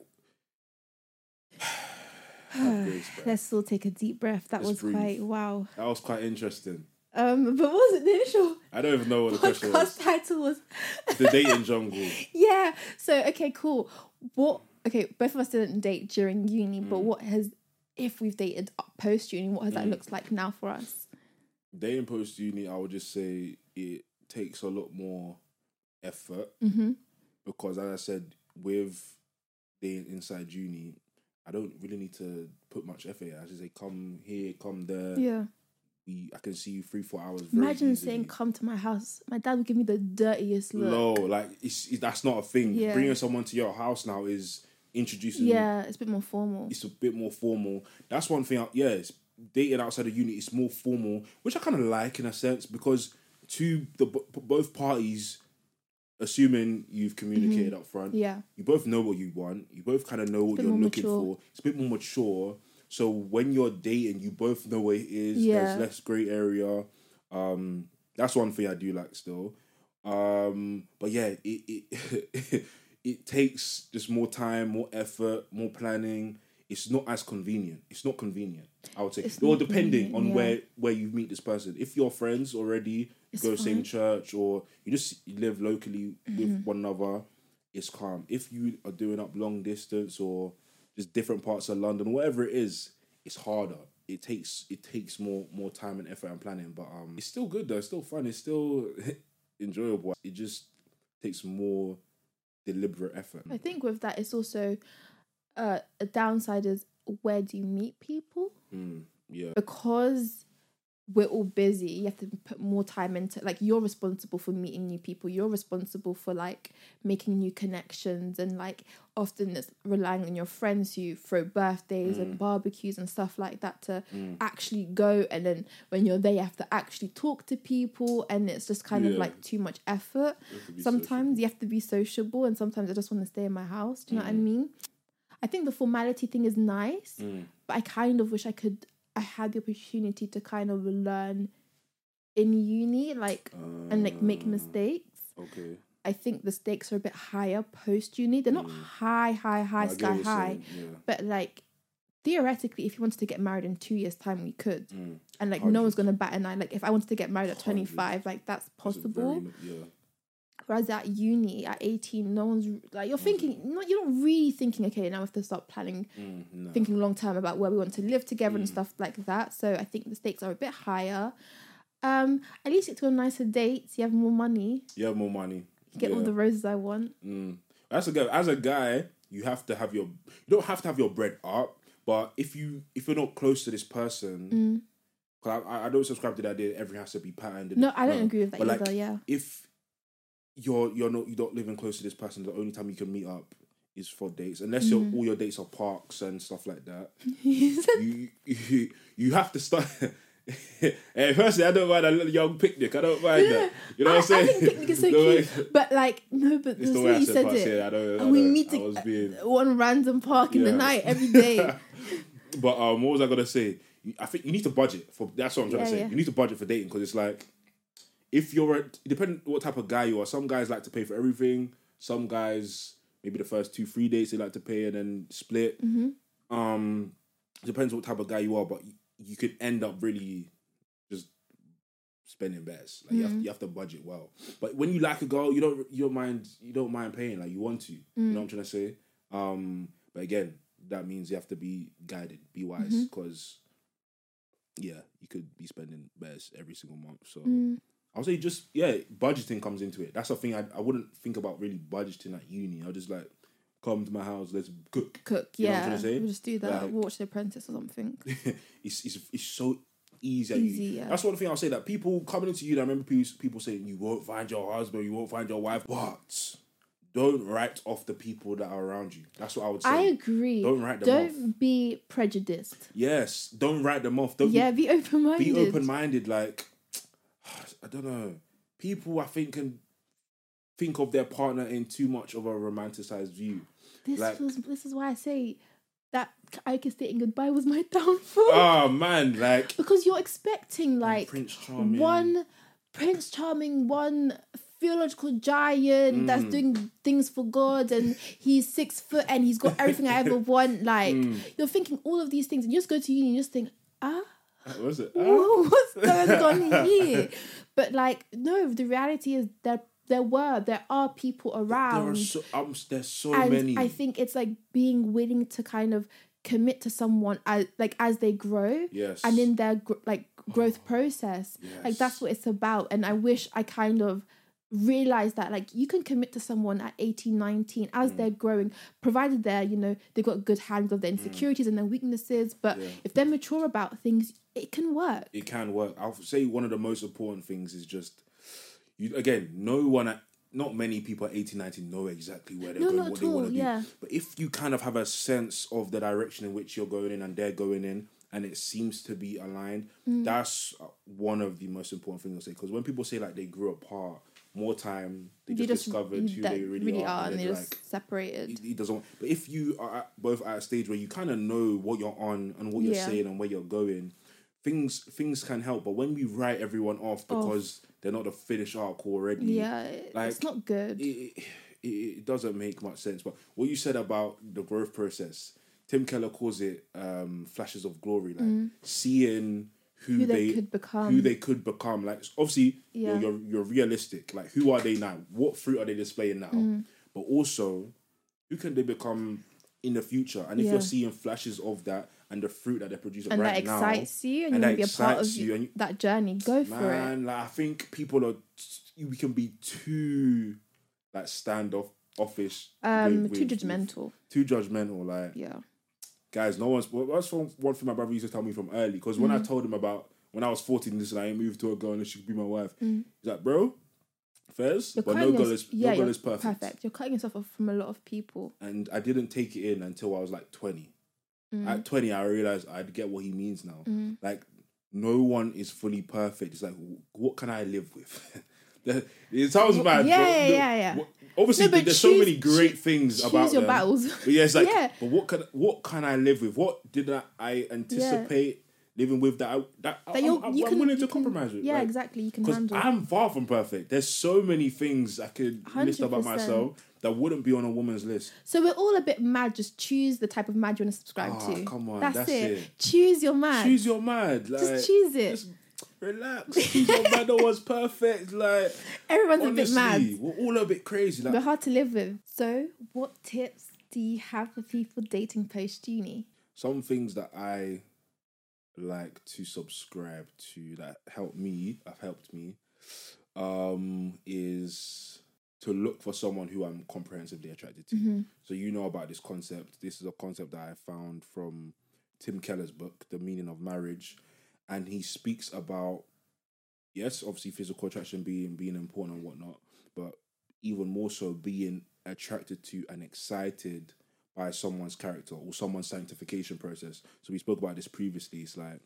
S2: let's still take a deep breath. That was quite, wow.
S1: That was quite interesting.
S2: But what was it, the initial?
S1: I don't even know what the question was.
S2: Podcast title was
S1: The Dating Jungle.
S2: Yeah. So, okay, cool. Both of us didn't date during uni, but if we've dated post uni, what has that looked like now for us?
S1: Dating post uni, I would just say it takes a lot more effort because, as I said, with dating inside uni, I don't really need to put much effort. I just say, come here, come there.
S2: Yeah.
S1: I can see you 3-4 hours.
S2: Imagine saying, "Come to my house." My dad would give me the dirtiest look.
S1: No, like that's not a thing. Yeah. Bringing someone to your house now is introducing.
S2: Yeah, it's a bit more formal.
S1: It's a bit more formal. That's one thing. It's dating outside of uni. It's more formal, which I kind of like in a sense because to both parties, assuming you've communicated up front, you both know what you want. You both kind of know what you're looking for. It's a bit more mature. So when you're dating, you both know what it is. Yeah. There's less grey area. That's one thing I do like still. But yeah, it takes just more time, more effort, more planning. It's not as convenient. It's not convenient, I would say. Or depending on where you meet this person. If you're friends already, you go same church, or you live locally with one another, it's calm. If you are doing up long distance or just different parts of London, whatever it is, it's harder. It takes more time and effort and planning. But it's still good though. It's still fun. It's still enjoyable. It just takes more deliberate effort.
S2: I think with that, it's also a downside is where do you meet people?
S1: Yeah.
S2: Because we're all busy. You have to put more time into, like, you're responsible for meeting new people. You're responsible for, like, making new connections. And, like, often it's relying on your friends who throw birthdays and barbecues and stuff like that to actually go. And then when you're there, you have to actually talk to people. And it's just kind of, like, too much effort. Sometimes you have to be sociable. And sometimes I just want to stay in my house. Do you know what I mean? I think the formality thing is nice. But I kind of wish I had the opportunity to kind of learn in uni, like, and like make mistakes.
S1: Okay.
S2: I think the stakes are a bit higher post uni. They're not high, sky high. But like theoretically, if you wanted to get married in 2 years' time, we could. And like 100. No one's gonna bat an eye. Like if I wanted to get married at 25, like that's possible. Whereas at uni, at 18, no one's like, you're thinking, you're not really thinking, okay, now we have to start planning, thinking long term about where we want to live together and stuff like that. So I think the stakes are a bit higher. At least you get to a nicer dates. You have more money. You get all the roses I want.
S1: As a guy, you have to have you don't have to have your bread up, but if you're not close to this person, because I don't subscribe to the idea that everything has to be patterned.
S2: No, I don't agree with that either.
S1: Like, if you're not living close to this person, the only time you can meet up is for dates, unless all your dates are parks and stuff like that. you have to start. Hey, personally, I don't mind a little young picnic. I don't mind that. You know what I'm saying?
S2: I think picnic is so cute, but like but it's the way you said it. We meet at one random park in the night every day.
S1: But what was I gonna say? I think you need to budget for. That's what I'm trying to say. You need to budget for dating because it's like, if you're depending what type of guy you are, some guys like to pay for everything. Some guys, maybe the first 2-3 dates they like to pay and then split. Depends what type of guy you are, but you could end up really just spending best. Like you have to budget well. But when you like a girl, you don't mind paying. Like you want to. You know what I'm trying to say? But again, that means you have to be guided, be wise, because you could be spending best every single month. So I'll say just, budgeting comes into it. That's the thing I wouldn't think about really budgeting at uni. I'll just like, come to my house, let's cook. You know what I'm trying to say?
S2: We'll just do that, like, watch The Apprentice or something.
S1: it's so easy. That's one thing I'll say, that people coming into uni, I remember people saying, you won't find your husband, you won't find your wife, but don't write off the people that are around you. That's what I would say.
S2: I agree.
S1: Don't write them off.
S2: Don't be prejudiced.
S1: Yes, don't write them off.
S2: Be open-minded.
S1: Be open-minded, like, I don't know. People, I think, can think of their partner in too much of a romanticized view.
S2: This is why I say that Ike stating goodbye was my downfall.
S1: Oh man, like,
S2: because you're expecting like
S1: Prince Charming,
S2: one theological giant that's doing things for God, and he's 6 foot and he's got everything I ever want. Like you're thinking all of these things, and you just go to uni and you just think,
S1: what was it?
S2: What's going on here? But like, no, the reality is that there are people around.
S1: There's so many.
S2: I think it's like being willing to kind of commit to someone as they grow.
S1: Yes.
S2: And in their growth process.
S1: Yes.
S2: Like that's what it's about. And I wish I kind of realized that like you can commit to someone at 18, 19 as they're growing, provided they've got good handle of their insecurities and their weaknesses. But if they're mature about things, it can work.
S1: It can work. I'll say one of the most important things is just, not many people at 18, 19 know exactly where they're going, what they want to do. But if you kind of have a sense of the direction in which you're going in and they're going in, and it seems to be aligned, that's one of the most important things I'll say. Because when people say like they grew apart, more time they just discovered who they really are,
S2: and they're just separated.
S1: It doesn't. But if you are both at a stage where you kind of know what you're on and what you're saying and where you're going, things can help. But when we write everyone off because they're not the finished arc already,
S2: it's not good.
S1: It doesn't make much sense. But what you said about the growth process, Tim Keller calls it flashes of glory, like seeing who they could become. Like obviously you're realistic. Like who are they now? What fruit are they displaying now? But also who can they become in the future? And if you're seeing flashes of that and the fruit that they're producing
S2: and
S1: right now,
S2: and that excites you, and you want to be a part of that journey, go for it.
S1: Like I think people we can be too like standoffish,
S2: too judgmental.
S1: Too judgmental, like guys, that's one thing my brother used to tell me from early. Because when I told him about when I was 14, listen, I ain't moved to a girl and she could be my wife. He's like, bro, Fairs, but no girl is perfect.
S2: You're cutting yourself off from a lot of people.
S1: And I didn't take it in until I was like 20. At 20, I realized I'd get what he means now. Like, no one is fully perfect. It's like, what can I live with? It sounds bad.
S2: Yeah.
S1: Obviously, there's so many great things about
S2: choose your
S1: them.
S2: battles.
S1: But yeah, it's like, but what can I live with? What did I anticipate living with that I'm willing to compromise with?
S2: Yeah, like, exactly. You can handle.
S1: Because I'm far from perfect. There's so many things I could 100%. List about myself that wouldn't be on a woman's list.
S2: So we're all a bit mad. Just choose the type of mad you want to subscribe to.
S1: Come on,
S2: that's it. Choose your mad.
S1: Choose your mad. Like,
S2: just choose it.
S1: Just relax. Choose your mad. No one's perfect. Like,
S2: everyone's
S1: honestly,
S2: a bit mad.
S1: We're all a bit crazy. Like,
S2: we're hard to live with. So, what tips do you have for people dating post uni?
S1: Some things that I like to subscribe to that have helped me, is to look for someone who I'm comprehensively attracted to. So you know about this concept. This is a concept that I found from Tim Keller's book, The Meaning of Marriage. And he speaks about, yes, obviously physical attraction being important and whatnot, but even more so being attracted to and excited by someone's character or someone's sanctification process. So we spoke about this previously. It's like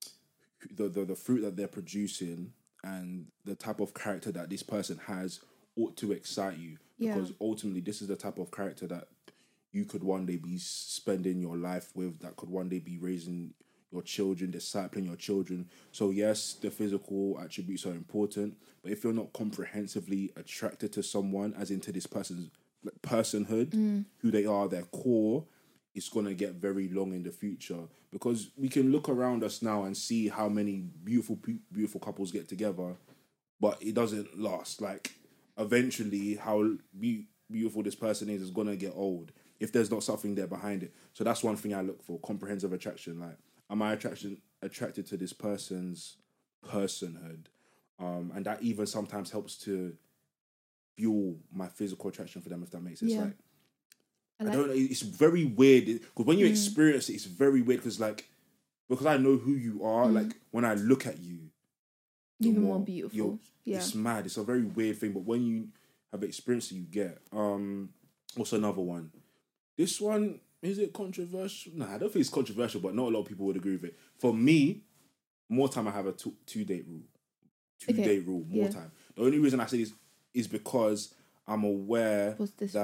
S1: the fruit that they're producing and the type of character that this person has ought to excite you. Because ultimately this is the type of character that you could one day be spending your life with, that could one day be raising your children, discipling your children. So yes, the physical attributes are important, but if you're not comprehensively attracted to someone, as into this person's personhood, who they are, their core, it's going to get very long in the future. Because we can look around us now and see how many beautiful couples get together, but it doesn't last. Like, eventually, how beautiful this person is going to get old if there's not something there behind it. So that's one thing I look for, comprehensive attraction. Like, am I attracted to this person's personhood? And that even sometimes helps to fuel my physical attraction for them, if that makes sense. Like, I don't know, it's very weird because when you experience it, it's very weird because I know who you are. Like, when I look at you,
S2: you're more beautiful.
S1: It's mad. It's a very weird thing, but when you have experienced it, you get. What's another one? This one, is it controversial? No, I don't think it's controversial, but not a lot of people would agree with it. For me, more time I have a two-date rule. Two-date rule, more time. The only reason I say this is because I'm aware
S2: What's this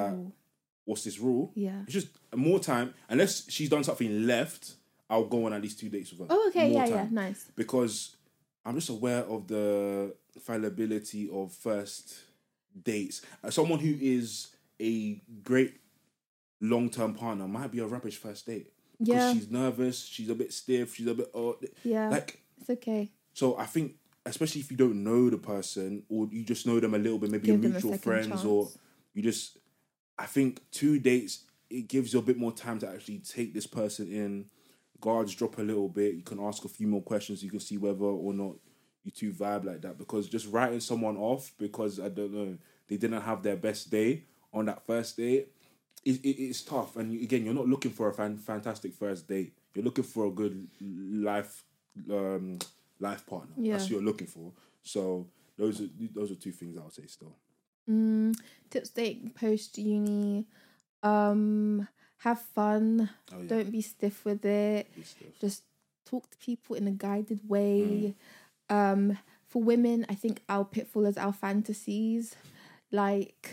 S2: rule? Yeah.
S1: It's just more time. Unless she's done something left, I'll go on at least 2 dates with her.
S2: Oh, okay. Yeah, nice.
S1: Because I'm just aware of the fallibility of first dates. Someone who is a great long-term partner might be a rubbish first date. Because she's nervous, she's a bit stiff, she's a bit... like,
S2: it's okay.
S1: So I think, especially if you don't know the person or you just know them a little bit, maybe you're mutual friends chance. Or you just... I think 2 dates, it gives you a bit more time to actually take this person in. Guards drop a little bit. You can ask a few more questions. You can see whether or not you two vibe like that. Because just writing someone off because, I don't know, they didn't have their best day on that first date, it's tough. And again, you're not looking for a fantastic first date. You're looking for a good life partner. Yeah. That's what you're looking for. So those are 2 things I would say still.
S2: Tips dating post uni. Have fun. Don't be stiff with it. Just talk to people in a guided way. For women, I think our pitfall is our fantasies. Like,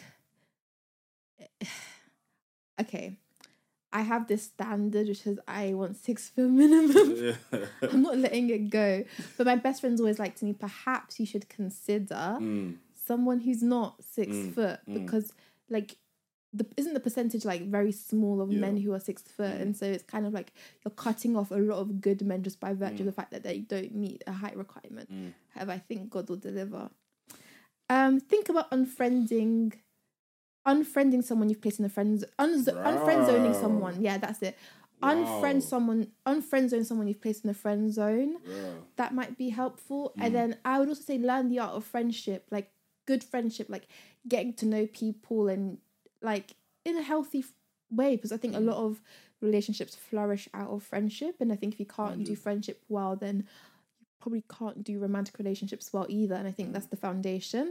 S2: okay, I have this standard which is I want 6 foot minimum. I'm not letting it go. But my best friends always like to me, perhaps you should consider someone who's not 6 foot because, like, isn't the percentage like very small of men who are 6 foot, and so it's kind of like you're cutting off a lot of good men just by virtue of the fact that they don't meet a height requirement. However, I think God will deliver. Think about unfriending someone you've placed in a unfriend zoning someone. Yeah, that's it. Unfriend zone someone you've placed in a friend zone. That might be helpful. And then I would also say learn the art of friendship, like good friendship, like getting to know people and like in a healthy way, because I think a lot of relationships flourish out of friendship, and I think if you can't do friendship well, then you probably can't do romantic relationships well either. And I think that's the foundation.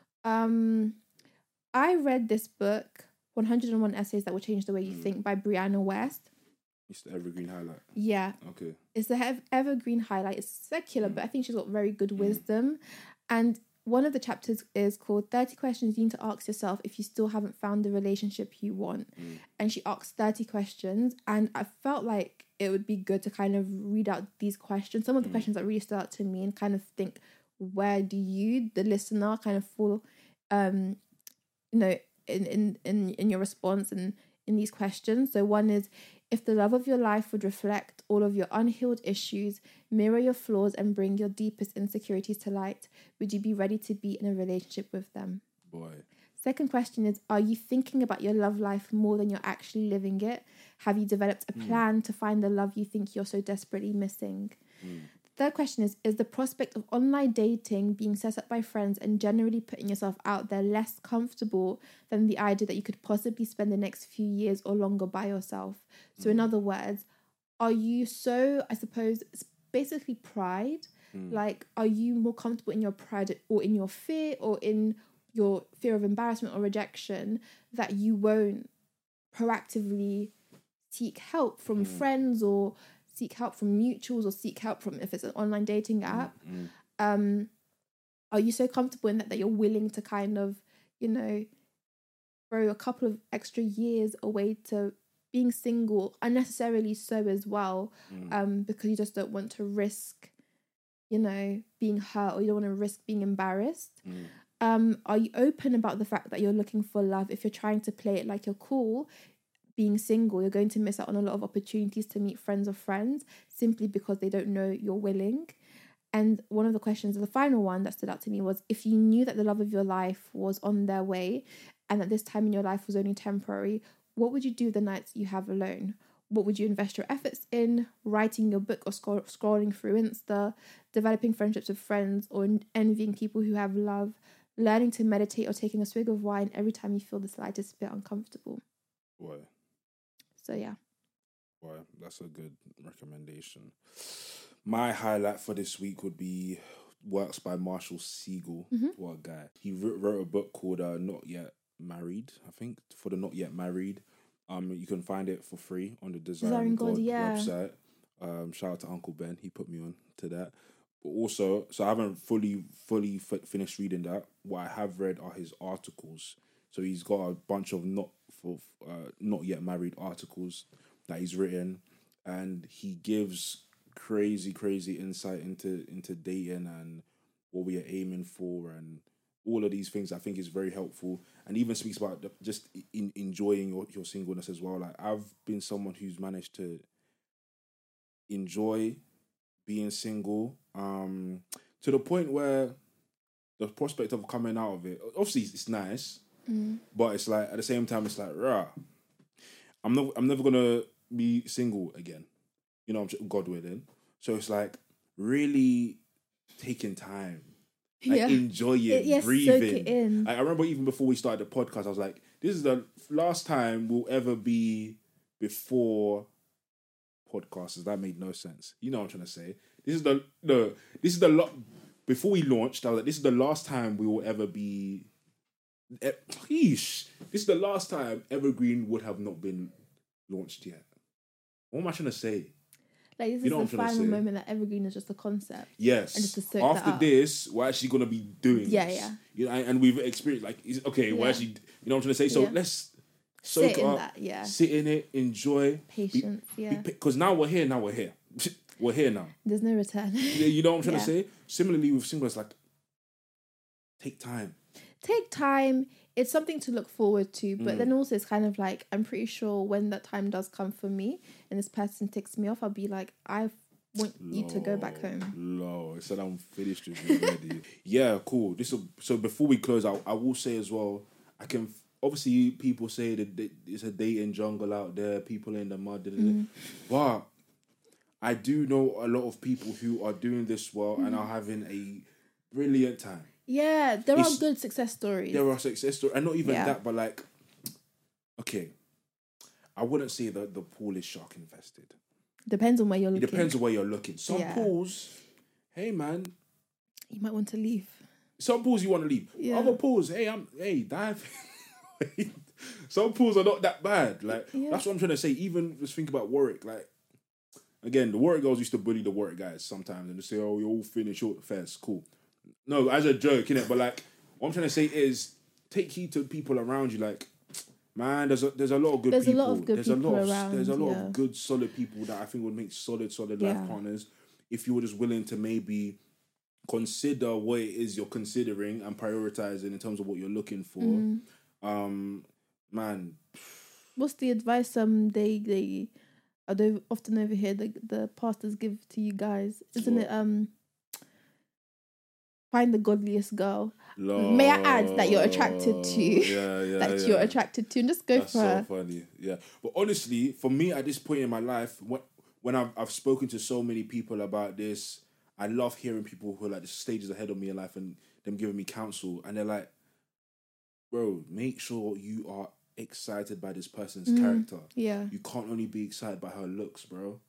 S2: I read this book, 101 Essays That Will Change the Way You Think, by Brianna West.
S1: It's the Evergreen Highlight.
S2: Yeah.
S1: Okay.
S2: It's the Evergreen Highlight. It's secular, but I think she's got very good wisdom. And one of the chapters is called 30 Questions You Need to Ask Yourself If You Still Haven't Found the Relationship You Want. And she asks 30 questions. And I felt like it would be good to kind of read out these questions. Some of the questions that really stood out to me and kind of think, where do you, the listener, kind of fall, in your response and in these questions. So one is, if the love of your life would reflect all of your unhealed issues, mirror your flaws, and bring your deepest insecurities to light, would you be ready to be in a relationship with them?
S1: Boy.
S2: Second question is, are you thinking about your love life more than you're actually living it? Have you developed a plan to find the love you think you're so desperately missing? Third question is the prospect of online dating, being set up by friends, and generally putting yourself out there less comfortable than the idea that you could possibly spend the next few years or longer by yourself? So in other words, are you so, I suppose, it's basically pride? Like, are you more comfortable in your pride or in your fear or in your fear of embarrassment or rejection that you won't proactively seek help from friends or seek help from mutuals or seek help from, if it's an online dating app? Are you so comfortable in that you're willing to kind of, throw a couple of extra years away to being single, unnecessarily so as well, because you just don't want to risk, being hurt, or you don't want to risk being embarrassed? Are you open about the fact that you're looking for love? If you're trying to play it like you're cool, being single, you're going to miss out on a lot of opportunities to meet friends of friends simply because they don't know you're willing. And one of the questions, the final one that stood out to me was, if you knew that the love of your life was on their way and that this time in your life was only temporary, what would you do the nights you have alone? What would you invest your efforts in? Writing your book or scrolling through Insta, developing friendships with friends, or envying people who have love, learning to meditate, or taking a swig of wine every time you feel the slightest bit uncomfortable?
S1: Boy. So
S2: yeah.
S1: Boy, that's a good recommendation. My highlight for this week would be works by Marshall Siegel. What a guy. He wrote a book called Not Yet Married, I think, for the Not Yet Married. You can find it for free on the Desiring God website. Shout out to Uncle Ben. He put me on to that. But also, so I haven't fully finished reading that. What I have read are his articles. So he's got a bunch of not yet married articles that he's written, and he gives crazy insight into dating and what we are aiming for and all of these things. I think is very helpful, and even speaks about just enjoying your singleness as well. Like, I've been someone who's managed to enjoy being single to the point where the prospect of coming out of it, obviously it's nice, but it's like, at the same time, it's like, rah, I'm never gonna be single again, God willing. So it's like really taking time, like enjoying, breathing.
S2: Soak it in.
S1: I remember even before we started the podcast, I was like, this is the last time we'll ever be before podcasters. That made no sense. You know what I'm trying to say? Before we launched, I was like, this is the last time we will ever be. This is the last time Evergreen would have not been launched yet. What am I trying to say?
S2: Like, this is the final moment that Evergreen is just a concept.
S1: Yes.
S2: And just to soak
S1: after this, we're actually gonna be doing this. Yeah. And we've experienced, like, we're actually, what I'm trying to say. So let's soak
S2: sit
S1: up,
S2: in that,
S1: sit in it, enjoy,
S2: patience.
S1: Because now we're here. We're here now.
S2: There's no return.
S1: You know what I'm trying to say? Similarly with singles, like, take time. It's something
S2: to look forward to, but then also it's kind of like, I'm pretty sure when that time does come for me and this person ticks me off, I'll be like, I want you to go back home.
S1: It said I'm finished with you already. Yeah, cool. So before we close out, I will say as well, obviously people say that it's a dating jungle out there, people in the mud, but I do know a lot of people who are doing this well and are having a brilliant time.
S2: Yeah, there are good success stories.
S1: There are success stories. And not even that, but like, okay, I wouldn't say that the pool is shark infested.
S2: Depends on where you're looking.
S1: It depends on where you're looking. Some pools, hey man,
S2: you might want to leave.
S1: Some pools you want to leave. Yeah. Other pools, dive. Some pools are not that bad. Like that's what I'm trying to say. Even just think about Warwick. Like again, the Warwick girls used to bully the Warwick guys sometimes and they say, "Oh, you're all thin and short." Fairs, cool. No, as a joke, innit? But like, what I'm trying to say is, take heed to people around you. Like, man, there's a lot of good people. There's a lot of good, solid people that I think would make solid life partners if you were just willing to maybe consider what it is you're considering and prioritizing in terms of what you're looking for. Man,
S2: what's the advice they often overhear the pastors give to you guys? Isn't it find the godliest girl? Lord. May I add that you're attracted to? You're attracted to, and just go for her.
S1: That's so funny. Yeah, but honestly, for me at this point in my life, when I've spoken to so many people about this, I love hearing people who are like the stages ahead of me in life and them giving me counsel, and they're like, bro, make sure you are excited by this person's character.
S2: Yeah.
S1: You can't only be excited by her looks, bro.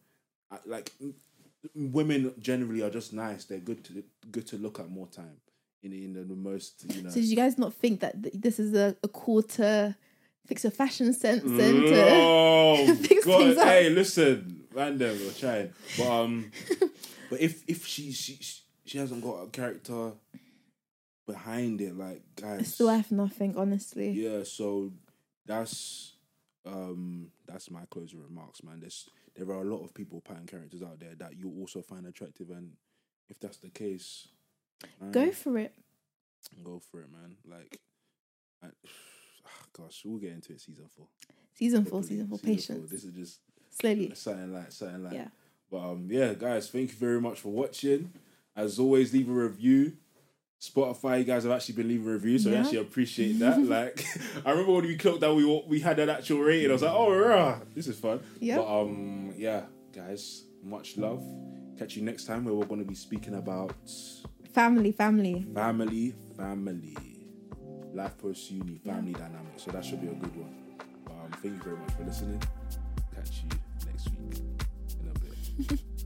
S1: Women generally are just nice. They're good to look at more time in the most, you know.
S2: So did you guys not think that this is a call to fix your fashion sense and
S1: to fix things up? Hey, listen, random, we're trying. But if she hasn't got a character behind it, like, guys,
S2: it's still have nothing, honestly.
S1: Yeah, so that's my closing remarks, man. There are a lot of people pattern characters out there that you also find attractive, and if that's the case, man,
S2: go for it.
S1: Go for it, man. Like, gosh, we'll get into it. Season 4.
S2: Season 4. Patience.
S1: 4. This is just
S2: slowly.
S1: Something like.
S2: Yeah.
S1: But guys, thank you very much for watching. As always, leave a review. Spotify, you guys have actually been leaving reviews, so I actually appreciate that. Like, I remember when we clocked that we had an actual rating. I was like, oh, this is fun. Yeah. But guys, much love. Catch you next time where we're going to be speaking about
S2: family,
S1: life post uni, family dynamics. So that should be a good one. Thank you very much for listening. Catch you next week in a bit.